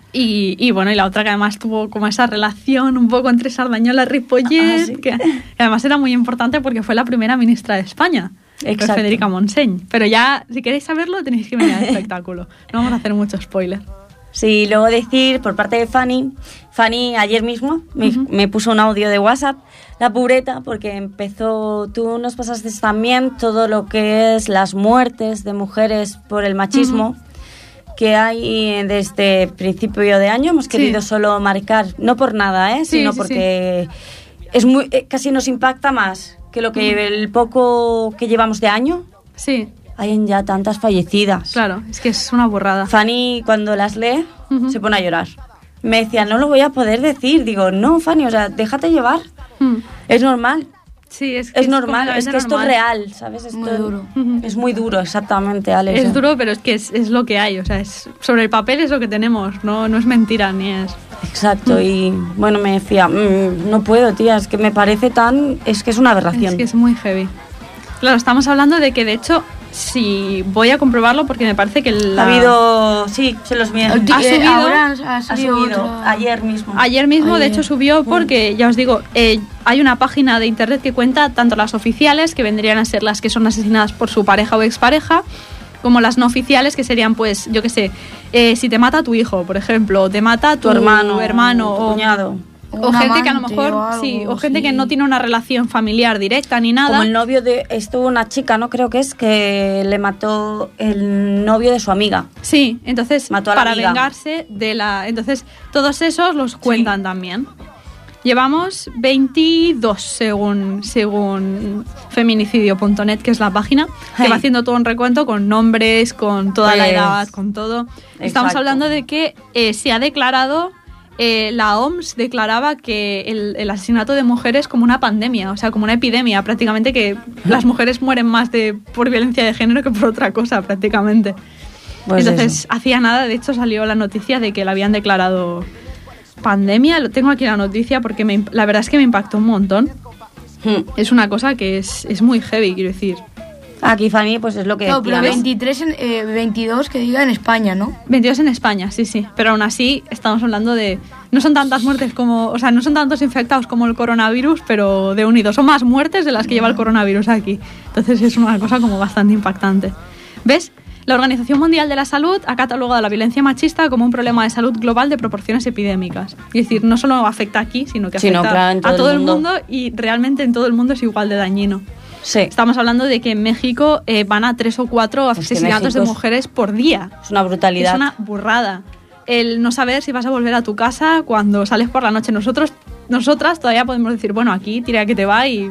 Y, y bueno, y la otra que además tuvo como esa relación un poco entre Sardañola y Ripollet, Ah, sí. que, que además era muy importante porque fue la primera ministra de España, que es Exacto. Federica Montseny. Pero ya, si queréis saberlo, tenéis que venir al espectáculo. No vamos a hacer mucho spoiler. Sí, luego decir por parte de Fanny, Fanny ayer mismo me, Ujú. me puso un audio de WhatsApp, la pobreta, porque empezó, tú nos pasaste también todo lo que es las muertes de mujeres por el machismo que hay desde principio de año. Hemos Sí. querido solo marcar, no por nada, ¿eh? Sí, sino sí, porque es muy, eh, casi nos impacta más que lo que el poco que llevamos de año. Sí, Hay ya tantas fallecidas. claro, es que es una burrada. Fanny, cuando las lee, Ujú. se pone a llorar. Me decía, no lo voy a poder decir. Digo, no, Fanny, o sea, déjate llevar. Mm. Es normal. Sí, es, que es normal, es que esto normal. es real, ¿sabes? Esto Muy duro. Es muy duro, exactamente, Alex. Es duro, pero es que es, es lo que hay, o sea, es, sobre el papel es lo que tenemos, no, no es mentira ni es... Exacto, y bueno, me decía, mmm, no puedo, tía, es que me parece tan... Es que es una aberración. Es que es muy heavy. Claro, estamos hablando de que, de hecho, si voy a comprobarlo porque me parece que la... Ha habido... Sí, se los vi. Ha Eh, subido- ahora ha Ha salido subido otro. ayer mismo. Ayer mismo, de Ayer. hecho, subió porque, ya os digo, eh, hay una página de internet que cuenta tanto las oficiales, que vendrían a ser las que son asesinadas por su pareja o expareja, como las no oficiales, que serían, pues, yo qué sé, eh, si te mata tu hijo, por ejemplo, o te mata tu, Tu hermano, hermano tu o, cuñado. o Un gente que a lo amante mejor, o algo, sí, o gente sí. que no tiene una relación familiar directa ni nada. Como el novio de... Estuvo una chica, ¿no? Creo que es que le mató el novio de su amiga. Sí, entonces Mató a la para amiga. vengarse de la... Entonces todos esos los cuentan también. Llevamos veintidós según, según feminicidio punto net, que es la página, que Ay. va haciendo todo un recuento con nombres, con toda la Pues, edad, con todo. Estamos exacto. hablando de que eh, se ha declarado, eh, la O M S declaraba que el, el asesinato de mujeres como una pandemia, o sea, como una epidemia, prácticamente, que las mujeres mueren más de por violencia de género que por otra cosa, prácticamente. Pues Entonces, eso. hacía nada, de hecho salió la noticia de que la habían declarado pandemia. Lo tengo aquí la noticia porque me, imp- la verdad es que me impactó un montón. Hmm. Es una cosa que es, es muy heavy, quiero decir. Aquí, Fanny, pues es lo que No, pero decía, ¿no? veintitrés, en, eh, veintidós que diga en España, ¿no? veintidós en España, sí, sí. Pero aún así estamos hablando de... No son tantas muertes como... O sea, no son tantos infectados como el coronavirus, pero de unidos. Son más muertes de las que lleva el coronavirus aquí. Entonces es una cosa como bastante impactante. ¿Ves? La Organización Mundial de la Salud ha catalogado la violencia machista como un problema de salud global de proporciones epidémicas. Es decir, no solo afecta aquí, sino que Sino, afecta claro, en todo a el todo el mundo. mundo. Y realmente en todo el mundo es igual de dañino. Sí, Estamos hablando de que en México eh, van a tres o cuatro que asesinatos de México es- mujeres por día. es una brutalidad. Es una burrada. El no saber si vas a volver a tu casa cuando sales por la noche. Nosotros, nosotras todavía podemos decir, bueno, aquí tira que te va y...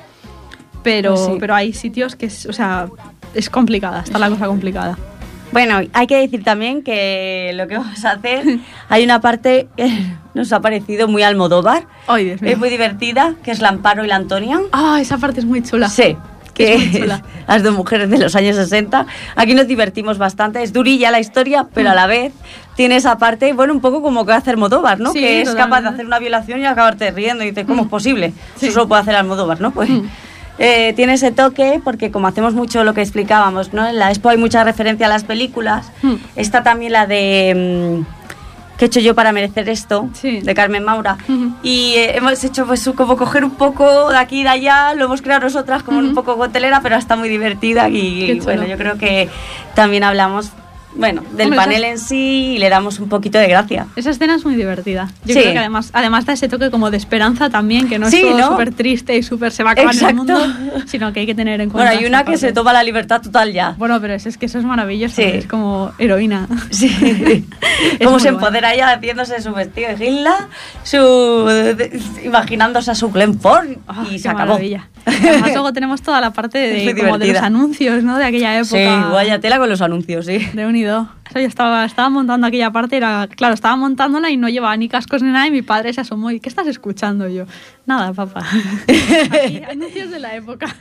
Pero, Pues sí. pero hay sitios que es, o sea, es complicada, está la cosa complicada. Bueno, hay que decir también que lo que vamos a hacer, hay una parte que nos ha parecido muy Almodóvar, Ay, Dios mío. es muy divertida, que es la Amparo y la Antonia. Ah, esa parte es muy chula. Sí, que Es muy es chula. las dos mujeres de los años sesenta. Aquí nos divertimos bastante, es durilla la historia, pero a la vez tiene esa parte, bueno, un poco como que hace Almodóvar, ¿no? Sí, que es capaz de totalmente. hacer una violación y acabarte riendo y dices, ¿cómo es posible? Sí. Eso solo puede hacer Almodóvar, ¿no? Pues... Mm. Eh, tiene ese toque porque como hacemos mucho lo que explicábamos, ¿no? En la expo hay mucha referencia a las películas. Hmm. Está también la de mm, ¿qué he hecho yo para merecer esto? Sí. De Carmen Maura. Ujú. Y eh, hemos hecho pues como coger un poco de aquí y de allá, lo hemos creado nosotras como un Ujú. poco gotelera, pero está muy divertida y Qué chulo. bueno, yo creo que también hablamos, bueno, del Hombre, panel esas- en sí y le damos un poquito de gracia. Esa escena es muy divertida. Yo Sí. creo que además, además da ese toque como de esperanza también, que no Sí, es todo ¿no? súper triste y súper se va a acabar Exacto. el mundo, sino que hay que tener en cuenta. Bueno, hay una esa que se parte. toma la libertad total ya. Bueno, pero es, es que eso es maravilloso, Sí. es como heroína. Sí. Es Cómo muy se guay. empodera ella haciéndose su vestido de Hilda, su de- imaginándose a su Glenn Ford Ah, y qué se acabó. maravilla. Además luego tenemos toda la parte Es muy de, como de los divertida. anuncios, ¿no? De aquella época. Sí, vaya tela con los anuncios, sí. De unido. O sea, yo estaba, estaba montando aquella parte, era, claro, estaba montándola y no llevaba ni cascos ni nada y mi padre se asomó y ¿qué estás escuchando? Y yo, nada, papá. Aquí, anuncios de la época.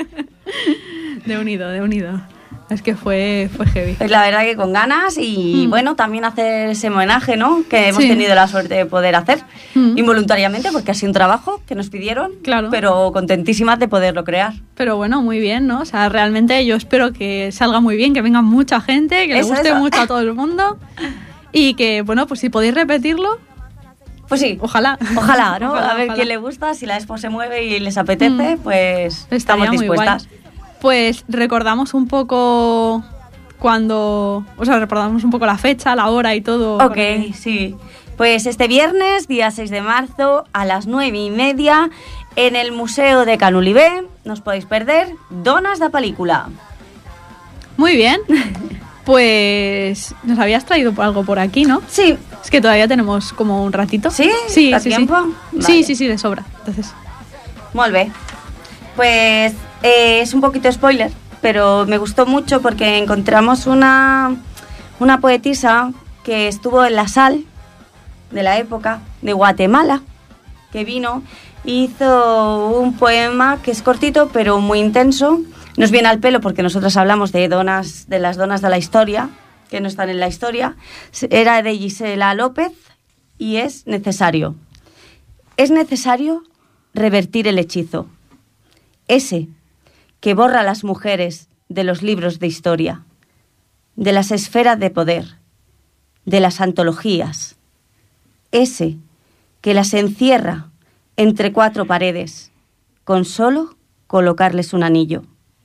De unido, de unido. Es que fue, fue heavy. Pues la verdad que con ganas y Mm. bueno, también hacer ese homenaje, ¿no? Que hemos Sí. tenido la suerte de poder hacer Mm. involuntariamente porque ha sido un trabajo que nos pidieron, Claro. pero contentísimas de poderlo crear. Pero bueno, muy bien, ¿no? O sea, realmente yo espero que salga muy bien, que venga mucha gente, que le Eso, guste eso. mucho a todo el mundo y que, bueno, pues si podéis repetirlo, Pues sí. ojalá. Ojalá, ¿no? Ojalá, a ver ojalá. quién le gusta, si la expo se mueve y les apetece, Mm. pues Estaría estamos muy dispuestas. guay. Pues recordamos un poco cuando, o sea, recordamos un poco la fecha, la hora y todo. Ok, porque- sí. Pues este viernes, día seis de marzo, a las nueve y media, en el Museo de Canulibé, no os podéis perder, Donas da Película. Muy bien. Pues nos habías traído por algo por aquí, ¿no? Sí, Es que todavía tenemos como un ratito. ¿Sí? Sí, ¿Da sí, tiempo? sí. Vale. Sí, sí, sí, de sobra. Entonces, molt bé. Pues eh, es un poquito spoiler, pero me gustó mucho porque encontramos una, una poetisa que estuvo en la Sal de la época de Guatemala, que vino hizo un poema que es cortito pero muy intenso. Nos viene al pelo porque nosotros hablamos de donas, de las donas de la historia, que no están en la historia. Era de Gisela López y es necesario. Es necesario revertir el hechizo, ese que borra a las mujeres de los libros de historia, de las esferas de poder, de las antologías, ese que las encierra entre cuatro paredes, con solo colocarles un anillo.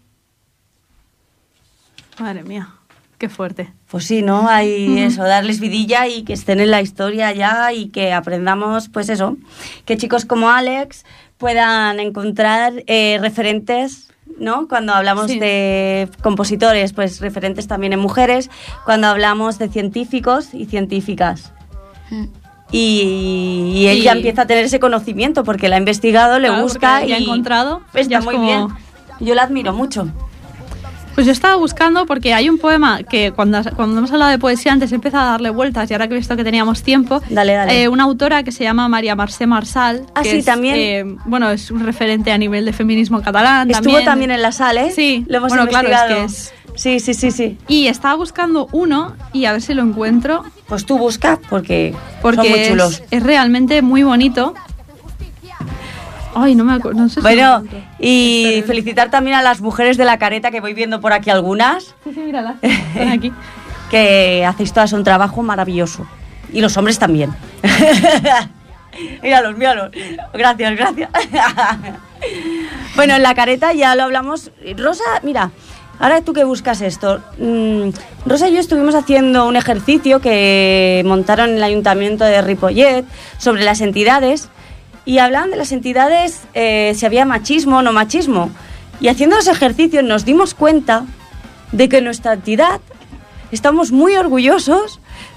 Madre mía, qué fuerte. Pues sí, ¿no? Hay eso, darles vidilla y que estén en la historia ya y que aprendamos, pues eso, que chicos como Alex puedan encontrar eh, referentes, ¿no? Cuando hablamos sí. de compositores, pues referentes también en mujeres, cuando hablamos de científicos y científicas. Mm. Y, y él y... ya empieza a tener ese conocimiento porque la ha investigado, le claro, busca y ya ha encontrado. Está ya muy como... bien. Yo la admiro mucho. Pues yo estaba buscando porque hay un poema que cuando, cuando hemos hablado de poesía antes empieza a darle vueltas y ahora que he visto que teníamos tiempo, dale, dale. Eh, una autora que se llama María Mercè Marçal, ah, que sí, es, también. Eh, bueno, es un referente a nivel de feminismo catalán. Estuvo también, también en la sala, ¿eh? Sí, lo hemos bueno, investigado. Claro, es que es... Sí, sí, sí, sí. Y estaba buscando uno y a ver si lo encuentro. Pues tú busca porque, porque son muy chulos. Es, es realmente muy bonito. Ay, no me acuerdo. No sé si bueno, y Espera. felicitar también a las mujeres de la careta, que voy viendo por aquí algunas. Sí, sí, míralas. Están aquí. Que hacéis todas un trabajo maravilloso. Y los hombres también. Míralos, míralos. Gracias, gracias. Bueno, en la careta ya lo hablamos. Rosa, mira, ahora tú que buscas esto. Mm, Rosa y yo estuvimos haciendo un ejercicio que montaron en el Ayuntamiento de Ripollet sobre las entidades. Y hablaban de las entidades, eh, si había machismo o no machismo. Y haciendo los ejercicios nos dimos cuenta de que nuestra entidad estamos muy orgullosos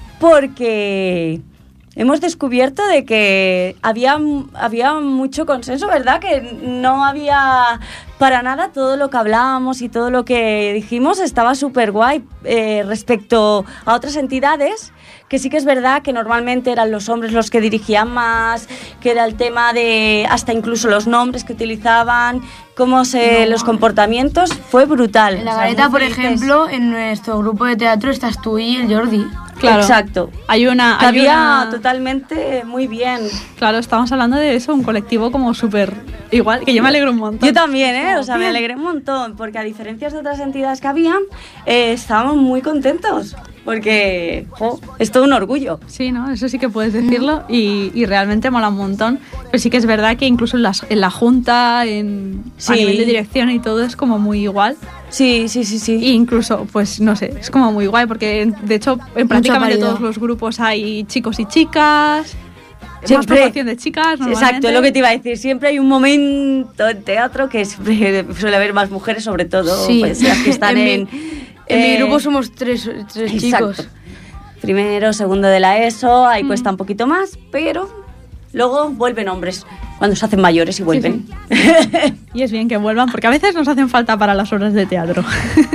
porque hemos descubierto de que había, había mucho consenso, ¿verdad? Que no había para nada todo lo que hablábamos y todo lo que dijimos estaba súper guay eh, respecto a otras entidades. Que sí que es verdad que normalmente eran los hombres los que dirigían más, que era el tema de hasta incluso los nombres que utilizaban, cómo se, no, los comportamientos, fue brutal. En la Gareta, por ejemplo, en nuestro grupo de teatro estás tú y el Jordi. Claro. Exacto. Hay una... Hay había una... totalmente muy bien. Claro, estamos hablando de eso, un colectivo como súper igual, que yo me alegro un montón. Yo también, ¿eh? O sea, me alegré un montón, porque a diferencia de otras entidades que habían, eh, estábamos muy contentos. Porque oh, es todo un orgullo. Sí, ¿no? Eso sí que puedes decirlo y, y realmente mola un montón. Pero sí que es verdad que incluso en, las, en la junta, en, sí. a nivel de dirección y todo es como muy igual. Sí, sí, sí, sí. E incluso, pues no sé, es como muy guay porque de hecho en prácticamente todos los grupos hay chicos y chicas. Siempre, más proporción de chicas, exacto, es lo que te iba a decir. Siempre hay un momento en teatro que siempre suele haber más mujeres, sobre todo sí. pues, las que están en... en mi... En eh, mi grupo somos tres, tres chicos. Primero, segundo de la ESO, ahí mm. cuesta un poquito más, pero luego vuelven hombres, cuando se hacen mayores y vuelven. Sí, sí. Y es bien que vuelvan, porque a veces nos hacen falta para las obras de teatro.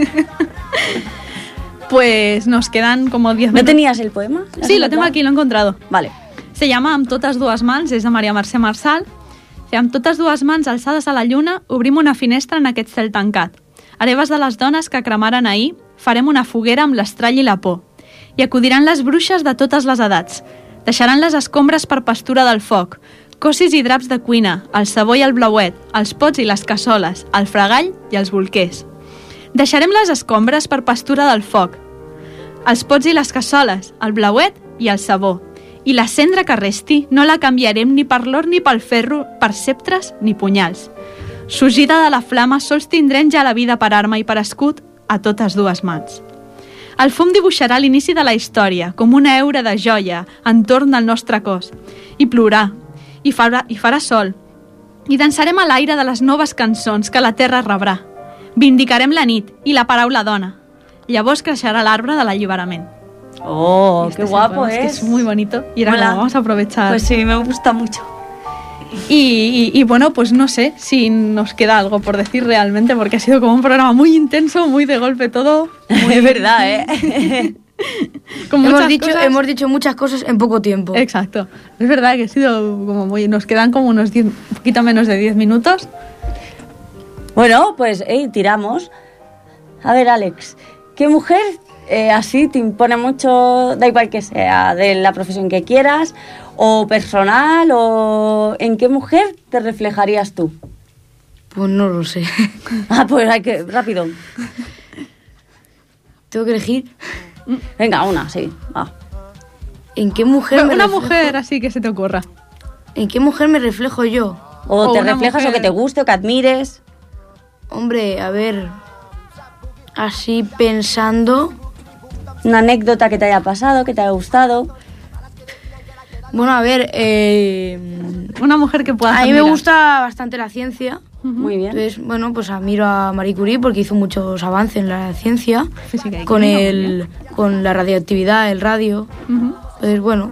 Pues nos quedan como diez minutos. ¿No tenías el poema? Sí, lo tengo aquí, lo he encontrado. Vale. Se llama Amb totes dues mans, és de Maria Mercè Marçal. Amb totes dues mans alçades a la lluna, obrim una finestra en aquest cel tancat. Hereves de les dones que cremaren ahir, farem una foguera amb l'estrall i la por. I acudiran les bruixes de totes les edats. Deixaran les escombres per pastura del foc, cossis i draps de cuina, el sabó i el blauet, els pots i les cassoles, el fregall i els bolquers. Deixarem les escombres per pastura del foc, els pots i les cassoles, el blauet i el sabó. I la cendra que resti no la canviarem ni per l'or ni pel ferro, per ceptres ni punyals. Sorgida de la flama, sols tindrem ja la vida per arma i per escut a totes dues mans. El fum dibuixarà l'inici de la història, com una heura de joia entorn del nostre cos. I plourà, i farà, i farà sol. I dansarem a l'aire de les noves cançons que la terra rebrà. Vindicarem la nit i la paraula dona. Llavors creixerà l'arbre de l'alliberament. Oh, este qué guapo es. Es que es muy bonito. Y ahora lo vamos a aprovechar. Pues sí, me gusta mucho. Y, y, y bueno, pues no sé si nos queda algo por decir realmente, porque ha sido como un programa muy intenso, muy de golpe todo. Muy... Es verdad, ¿eh? Con hemos, muchas dicho, cosas. hemos dicho muchas cosas en poco tiempo. Exacto. Es verdad que ha sido como muy... Nos quedan como unos diez, un poquito menos de diez minutos. Bueno, pues hey, tiramos. A ver, Alex, ¿qué mujer eh, así te impone mucho, da igual que sea, de la profesión que quieras, o personal, o en qué mujer te reflejarías tú? Pues no lo sé. Ah, pues hay que, rápido. Tengo que elegir Venga, una, sí, va. en qué mujer me Una reflejo- mujer así que se te ocurra. ¿En qué mujer me reflejo yo? O, O te una reflejas mujer- o que te guste o que admires. Hombre, a ver, así pensando, Una anécdota que te haya pasado, que te haya gustado. bueno, a ver, eh, Una mujer que pueda a mí me gusta bastante la ciencia. Muy bien. Entonces, bueno, pues admiro a Marie Curie porque hizo muchos avances en la ciencia, Física y con química, muy el, con la radioactividad, el radio. Ujú. Entonces, bueno,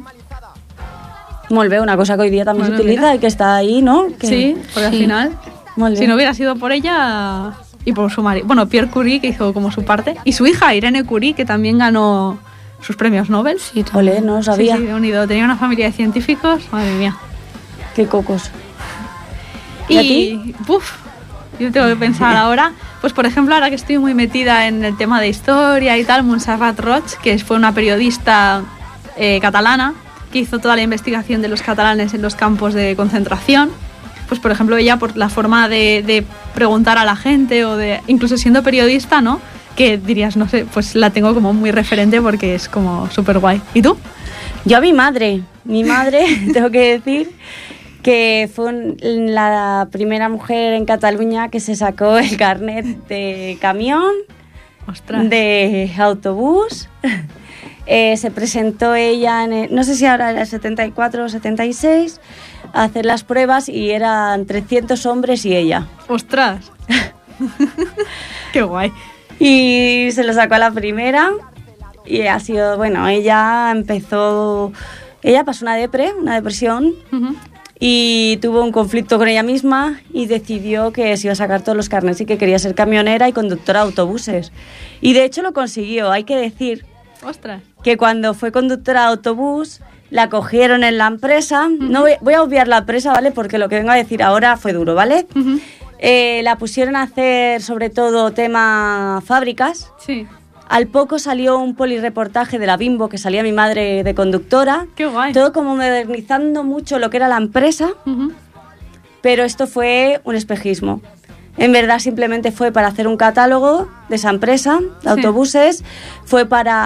Molt bé, una cosa que hoy día también Bueno, se utiliza mira. y que está ahí, ¿no? Que- Sí, porque al Sí. final, Molt si bé. no hubiera sido por ella y por su marido, bueno, Pierre Curie, que hizo como su parte, y su hija Irene Curie, que también ganó sus premios Nobel. sí, Ole, no lo sabía. Sí, sí, unido. Tenía una familia de científicos, madre mía. Qué cocos. ¿Y a Y, uf, yo tengo que pensar ahora, pues por ejemplo, ahora que estoy muy metida en el tema de historia y tal, Montserrat Roig, que fue una periodista eh, catalana, que hizo toda la investigación de los catalanes en los campos de concentración. Pues por ejemplo, ella por la forma de, de preguntar a la gente o de, incluso siendo periodista, ¿no? Que dirías, no sé, pues la tengo como muy referente porque es como súper guay. ¿Y tú? Yo a mi madre, mi madre, tengo que decir que fue un- la primera mujer en Cataluña que se sacó el carnet de camión, Ostras. de autobús. Eh, se presentó ella, en el- no sé si ahora era el setenta y cuatro o setenta y seis, a hacer las pruebas y eran trescientos hombres y ella. Ostras. Qué guay. Y se lo sacó a la primera y ha sido, bueno, ella empezó, ella pasó una depre, una depresión Ujú. y tuvo un conflicto con ella misma y decidió que se iba a sacar todos los carnets y que quería ser camionera y conductora de autobuses. Y de hecho lo consiguió. Hay que decir Ostras. que cuando fue conductora de autobús la cogieron en la empresa. No voy, voy a obviar la empresa, ¿vale? Porque lo que vengo a decir ahora fue duro, ¿vale? Ujú. Eh, la pusieron a hacer sobre todo tema fábricas. Sí. Al poco salió un polireportaje de la Bimbo, que salía mi madre de conductora. Qué guay. Todo como modernizando mucho lo que era la empresa, Ujú. pero esto fue un espejismo. En verdad simplemente fue para hacer un catálogo de esa empresa, de Sí. autobuses, fue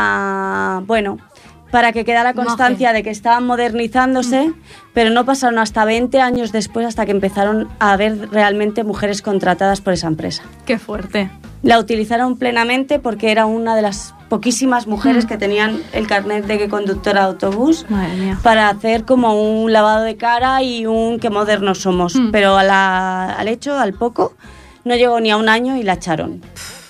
para, bueno, para que quedara Imagen. constancia de que estaban modernizándose, Mm. pero no pasaron hasta veinte años después hasta que empezaron a haber realmente mujeres contratadas por esa empresa. Qué fuerte. La utilizaron plenamente porque era una de las poquísimas mujeres Mm. que tenían el carnet de conductora de autobús Madre mía. para hacer como un lavado de cara y un qué modernos somos. Mm. Pero a la- al hecho, al poco, no llegó ni a un año y la echaron.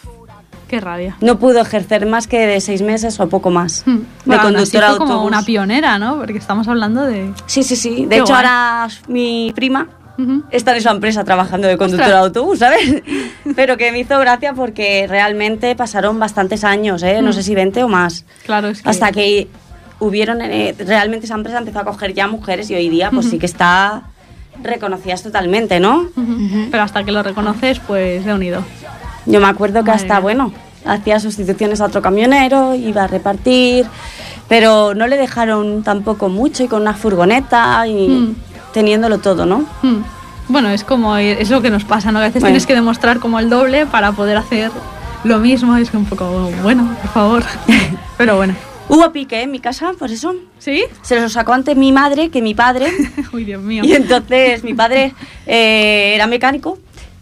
Qué rabia. No pudo ejercer más que de seis meses o poco más Mm. de Bueno, aún así conductora de fue como autobús. una pionera, ¿no? Porque estamos hablando de... Sí, sí, sí. De Qué hecho, guay. ahora mi prima Ujú. está en esa empresa trabajando de conductora de autobús, ¿sabes? Pero que me hizo gracia porque realmente pasaron bastantes años, ¿eh? No Mm. sé si veinte o más. Claro, es que... Hasta que hubieron, eh, realmente esa empresa empezó a coger ya mujeres y hoy día pues sí que está reconocidas totalmente, ¿no? Ujú. Pero hasta que lo reconoces, pues de unido. Yo me acuerdo que Madre hasta, mía. bueno, hacía sustituciones a otro camionero, iba a repartir, pero no le dejaron tampoco mucho y con una furgoneta y Mm. teniéndolo todo, ¿no? Mm. Bueno, es como... Es lo que nos pasa, ¿no? A veces Bueno. tienes que demostrar como el doble para poder hacer lo mismo. Es un poco... Bueno, por favor. Pero bueno. Hubo pique en mi casa, por eso. ¿Sí? Se los sacó antes mi madre que mi padre. Uy, Dios mío. Y entonces mi padre eh, era mecánico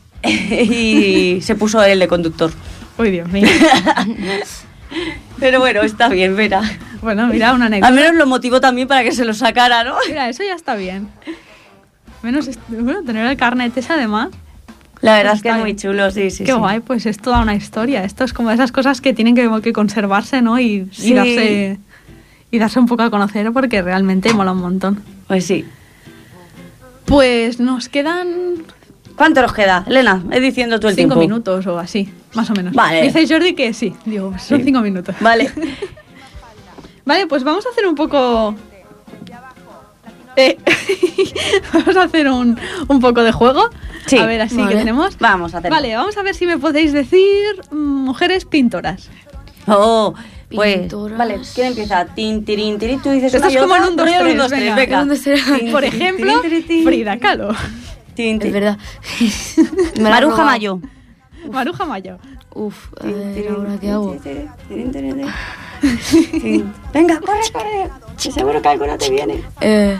y se puso él de conductor. Uy, Dios mío. Pero bueno, está bien, verá. Bueno, mira, una anécdota. Al menos lo motivó también para que se lo sacara, ¿no? Mira, eso ya está bien. Menos est- bueno, tener el carnet ese además. La verdad Pues es que está es muy bien. chulo, sí, sí. Qué sí. guay, pues es toda una historia. Esto es como esas cosas que tienen que, que conservarse, ¿no? Y, Sí. y darse y darse un poco a conocer porque realmente mola un montón. Pues sí. Pues nos quedan ¿Cuánto nos queda? Elena, es diciendo tú el cinco tiempo. minutos o así, más o menos. Vale. Dice Jordi que sí. Digo, son Sí. cinco minutos. Vale. Vale, pues vamos a hacer un poco... Eh, vamos a hacer un, un poco de juego. Sí, a ver, así vale. que tenemos. Vamos a hacerlo. Vale, vamos a ver si me podéis decir mm, mujeres pintoras. Oh, pues, Pintoras. vale, ¿quién empieza? Tin, tirín, tirín, tú dices Esto una es y como otra, en un, dos, pero yo tres, un, dos, tres, venga. venga. ¿Dónde será? Tin, Por tin, ejemplo, tirín, tirín, tin. Frida Kahlo. Tin, Es tin. verdad. Me la has Maruja robado. Mayo. Maruja Mayo. Uf, a Tin, ver, tirín, ¿ahora qué tin, hago? tirín, tirín, tirín, tirín. Tin. Venga, corre, corre. Que seguro que alguna te viene. Eh,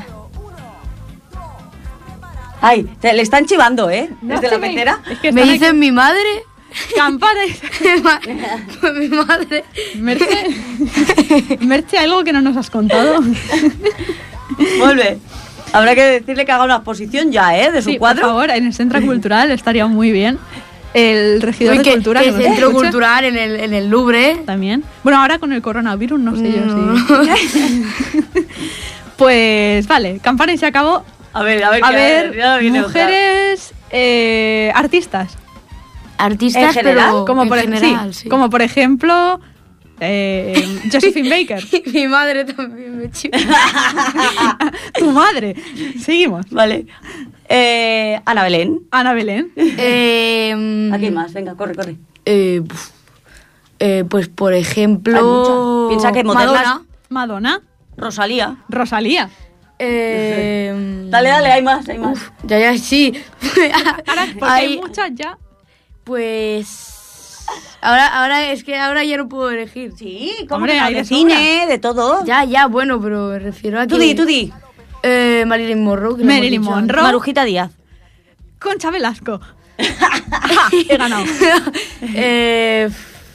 Ay, te, le están chivando, ¿eh? No Desde se la me- pecera. Es que ¿Me están dicen mi madre? aquí campanas. Mi madre. Merche, Merche, algo que no nos has contado. Vuelve. Habrá que decirle que haga una exposición ya, ¿eh? De su Sí, cuadro. por favor, en el Centro Cultural estaría muy bien. El regidor Uy, de que, Cultura. que que nos centro escucha cultural en el, en el Louvre. También. Bueno, ahora con el coronavirus no sé yo No. si... Pues vale, campana y se acabó. A ver, a ver. A que- ver, ya viene otra. mujeres eh, artistas. Artistas, ¿En general? pero Como en por, general, sí, sí. como por ejemplo eh, Josephine Baker. Mi madre también me chiva. Tu madre. Seguimos. Vale. Eh, Ana Belén. Ana Belén. eh, Aquí hay más, venga, corre, corre. eh, uf. Eh, pues por Hay ejemplo. muchas. Piensa que modernas. Madonna. Madonna. Rosalía. Rosalía. Eh, Dale, dale, hay más, hay más. uf, ya, ya, sí. Ahora, porque hay Hay- muchas ya. Pues. Ahora, ahora es que ahora ya no puedo elegir. Sí, como Hombre, que no, hay de de cine, de todo. Ya, ya, bueno, pero me refiero a que. Tú di, tú di. Eh, Marilyn Monroe. que lo hemos Marilyn dicho Monroe. Marujita Díaz. Concha Velasco. Ja, he ganado. antes. eh,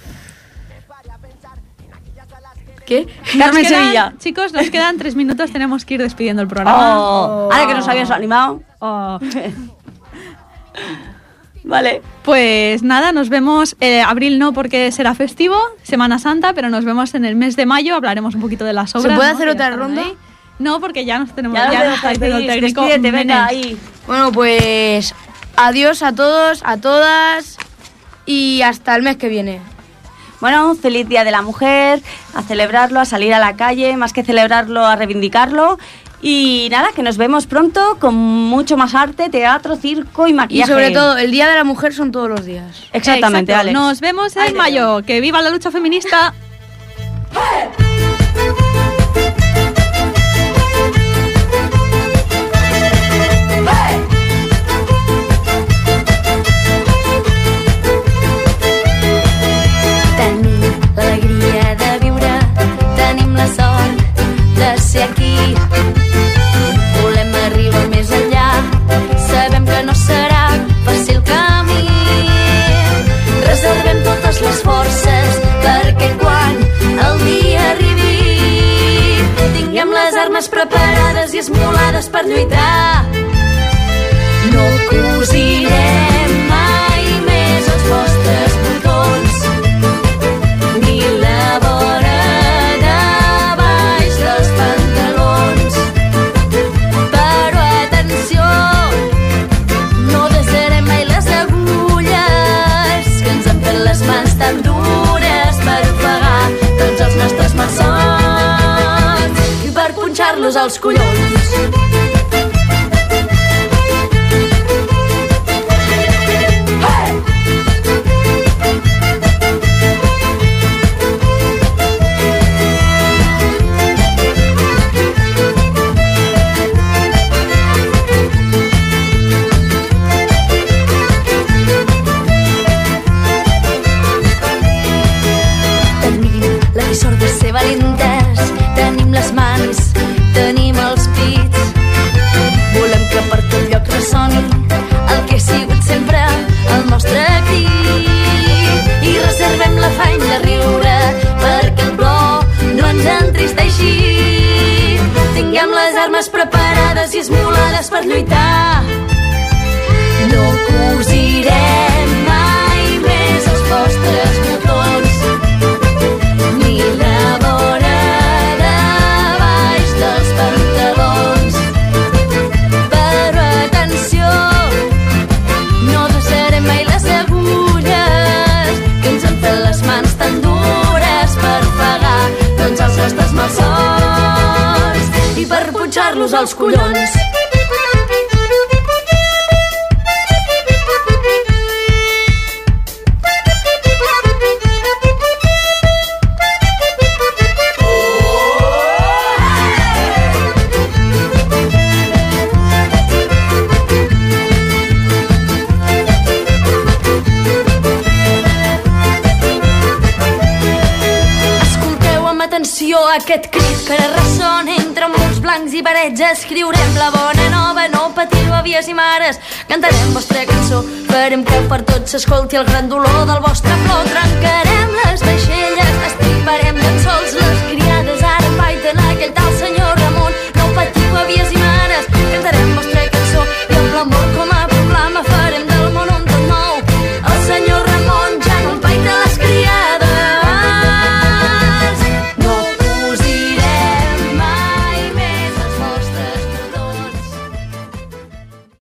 ¿Qué? Carmen Nos quedan- Sevilla. Chicos, nos quedan tres minutos, tenemos que ir despidiendo el programa. Oh, ahora que nos habías animado. Oh. Vale. Pues nada, nos vemos. Eh, abril no, porque será festivo, Semana Santa, pero nos vemos en el mes de mayo. Hablaremos un poquito de las obras. puede ¿no? hacer que otra están ronda? ahí. No, porque ya nos tenemos. Ya, Ya, ya nos está diciendo el técnico. Despídete, venga, Menes. ahí. Bueno, pues. Adiós a todos, a todas. Y hasta el mes que viene. Bueno, feliz Día de la Mujer, a celebrarlo, a salir a la calle, más que celebrarlo, a reivindicarlo. Y nada, que nos vemos pronto con mucho más arte, teatro, circo y Y maquillaje. sobre todo, el Día de la Mujer son todos los días. Exactamente, Exacto. Alex. Nos vemos Ahí en te mayo. Que viva la lucha feminista. Tenim l'alegria de viure, tenim la sort de ser aquí. Volem arribar més enllà, sabem que no serà fàcil camí. Reservem totes les forces perquè quan el dia arribi tinguem les armes preparades i esmolades per lluitar. No cosirem mai més els vostres botons ni la vora de baix dels pantalons. Però atenció, no deixarem mai les agulles que ens han fet les mans tan dures per ofegar tots els nostres malsons i per punxar-los als collons. Tenim la sort de ser valentes, tenim les mans, tenim els pits. Volem que per tot lloc ressoni el que ha sigut sempre el nostre crit. I reservem l'afany de riure perquè el plor no ens entristeixi. Tinguem les armes preparades i esmolades per lluitar. No cosirem mai més els vostres botons ni la vora de baix dels pantalons. Però atenció, no deixarem mai les agulles que ens han fet les mans tan dures per pagar tots els nostres malsons. tocar-los els collons. Aquest crit que ara ressona entre murs blancs i parets. Escriurem la bona nova, no patiu, àvies i mares. Cantarem vostra cançó, farem que per tots s'escolti el gran dolor del vostre plor. Trencarem les vaixelles, estriparem llençols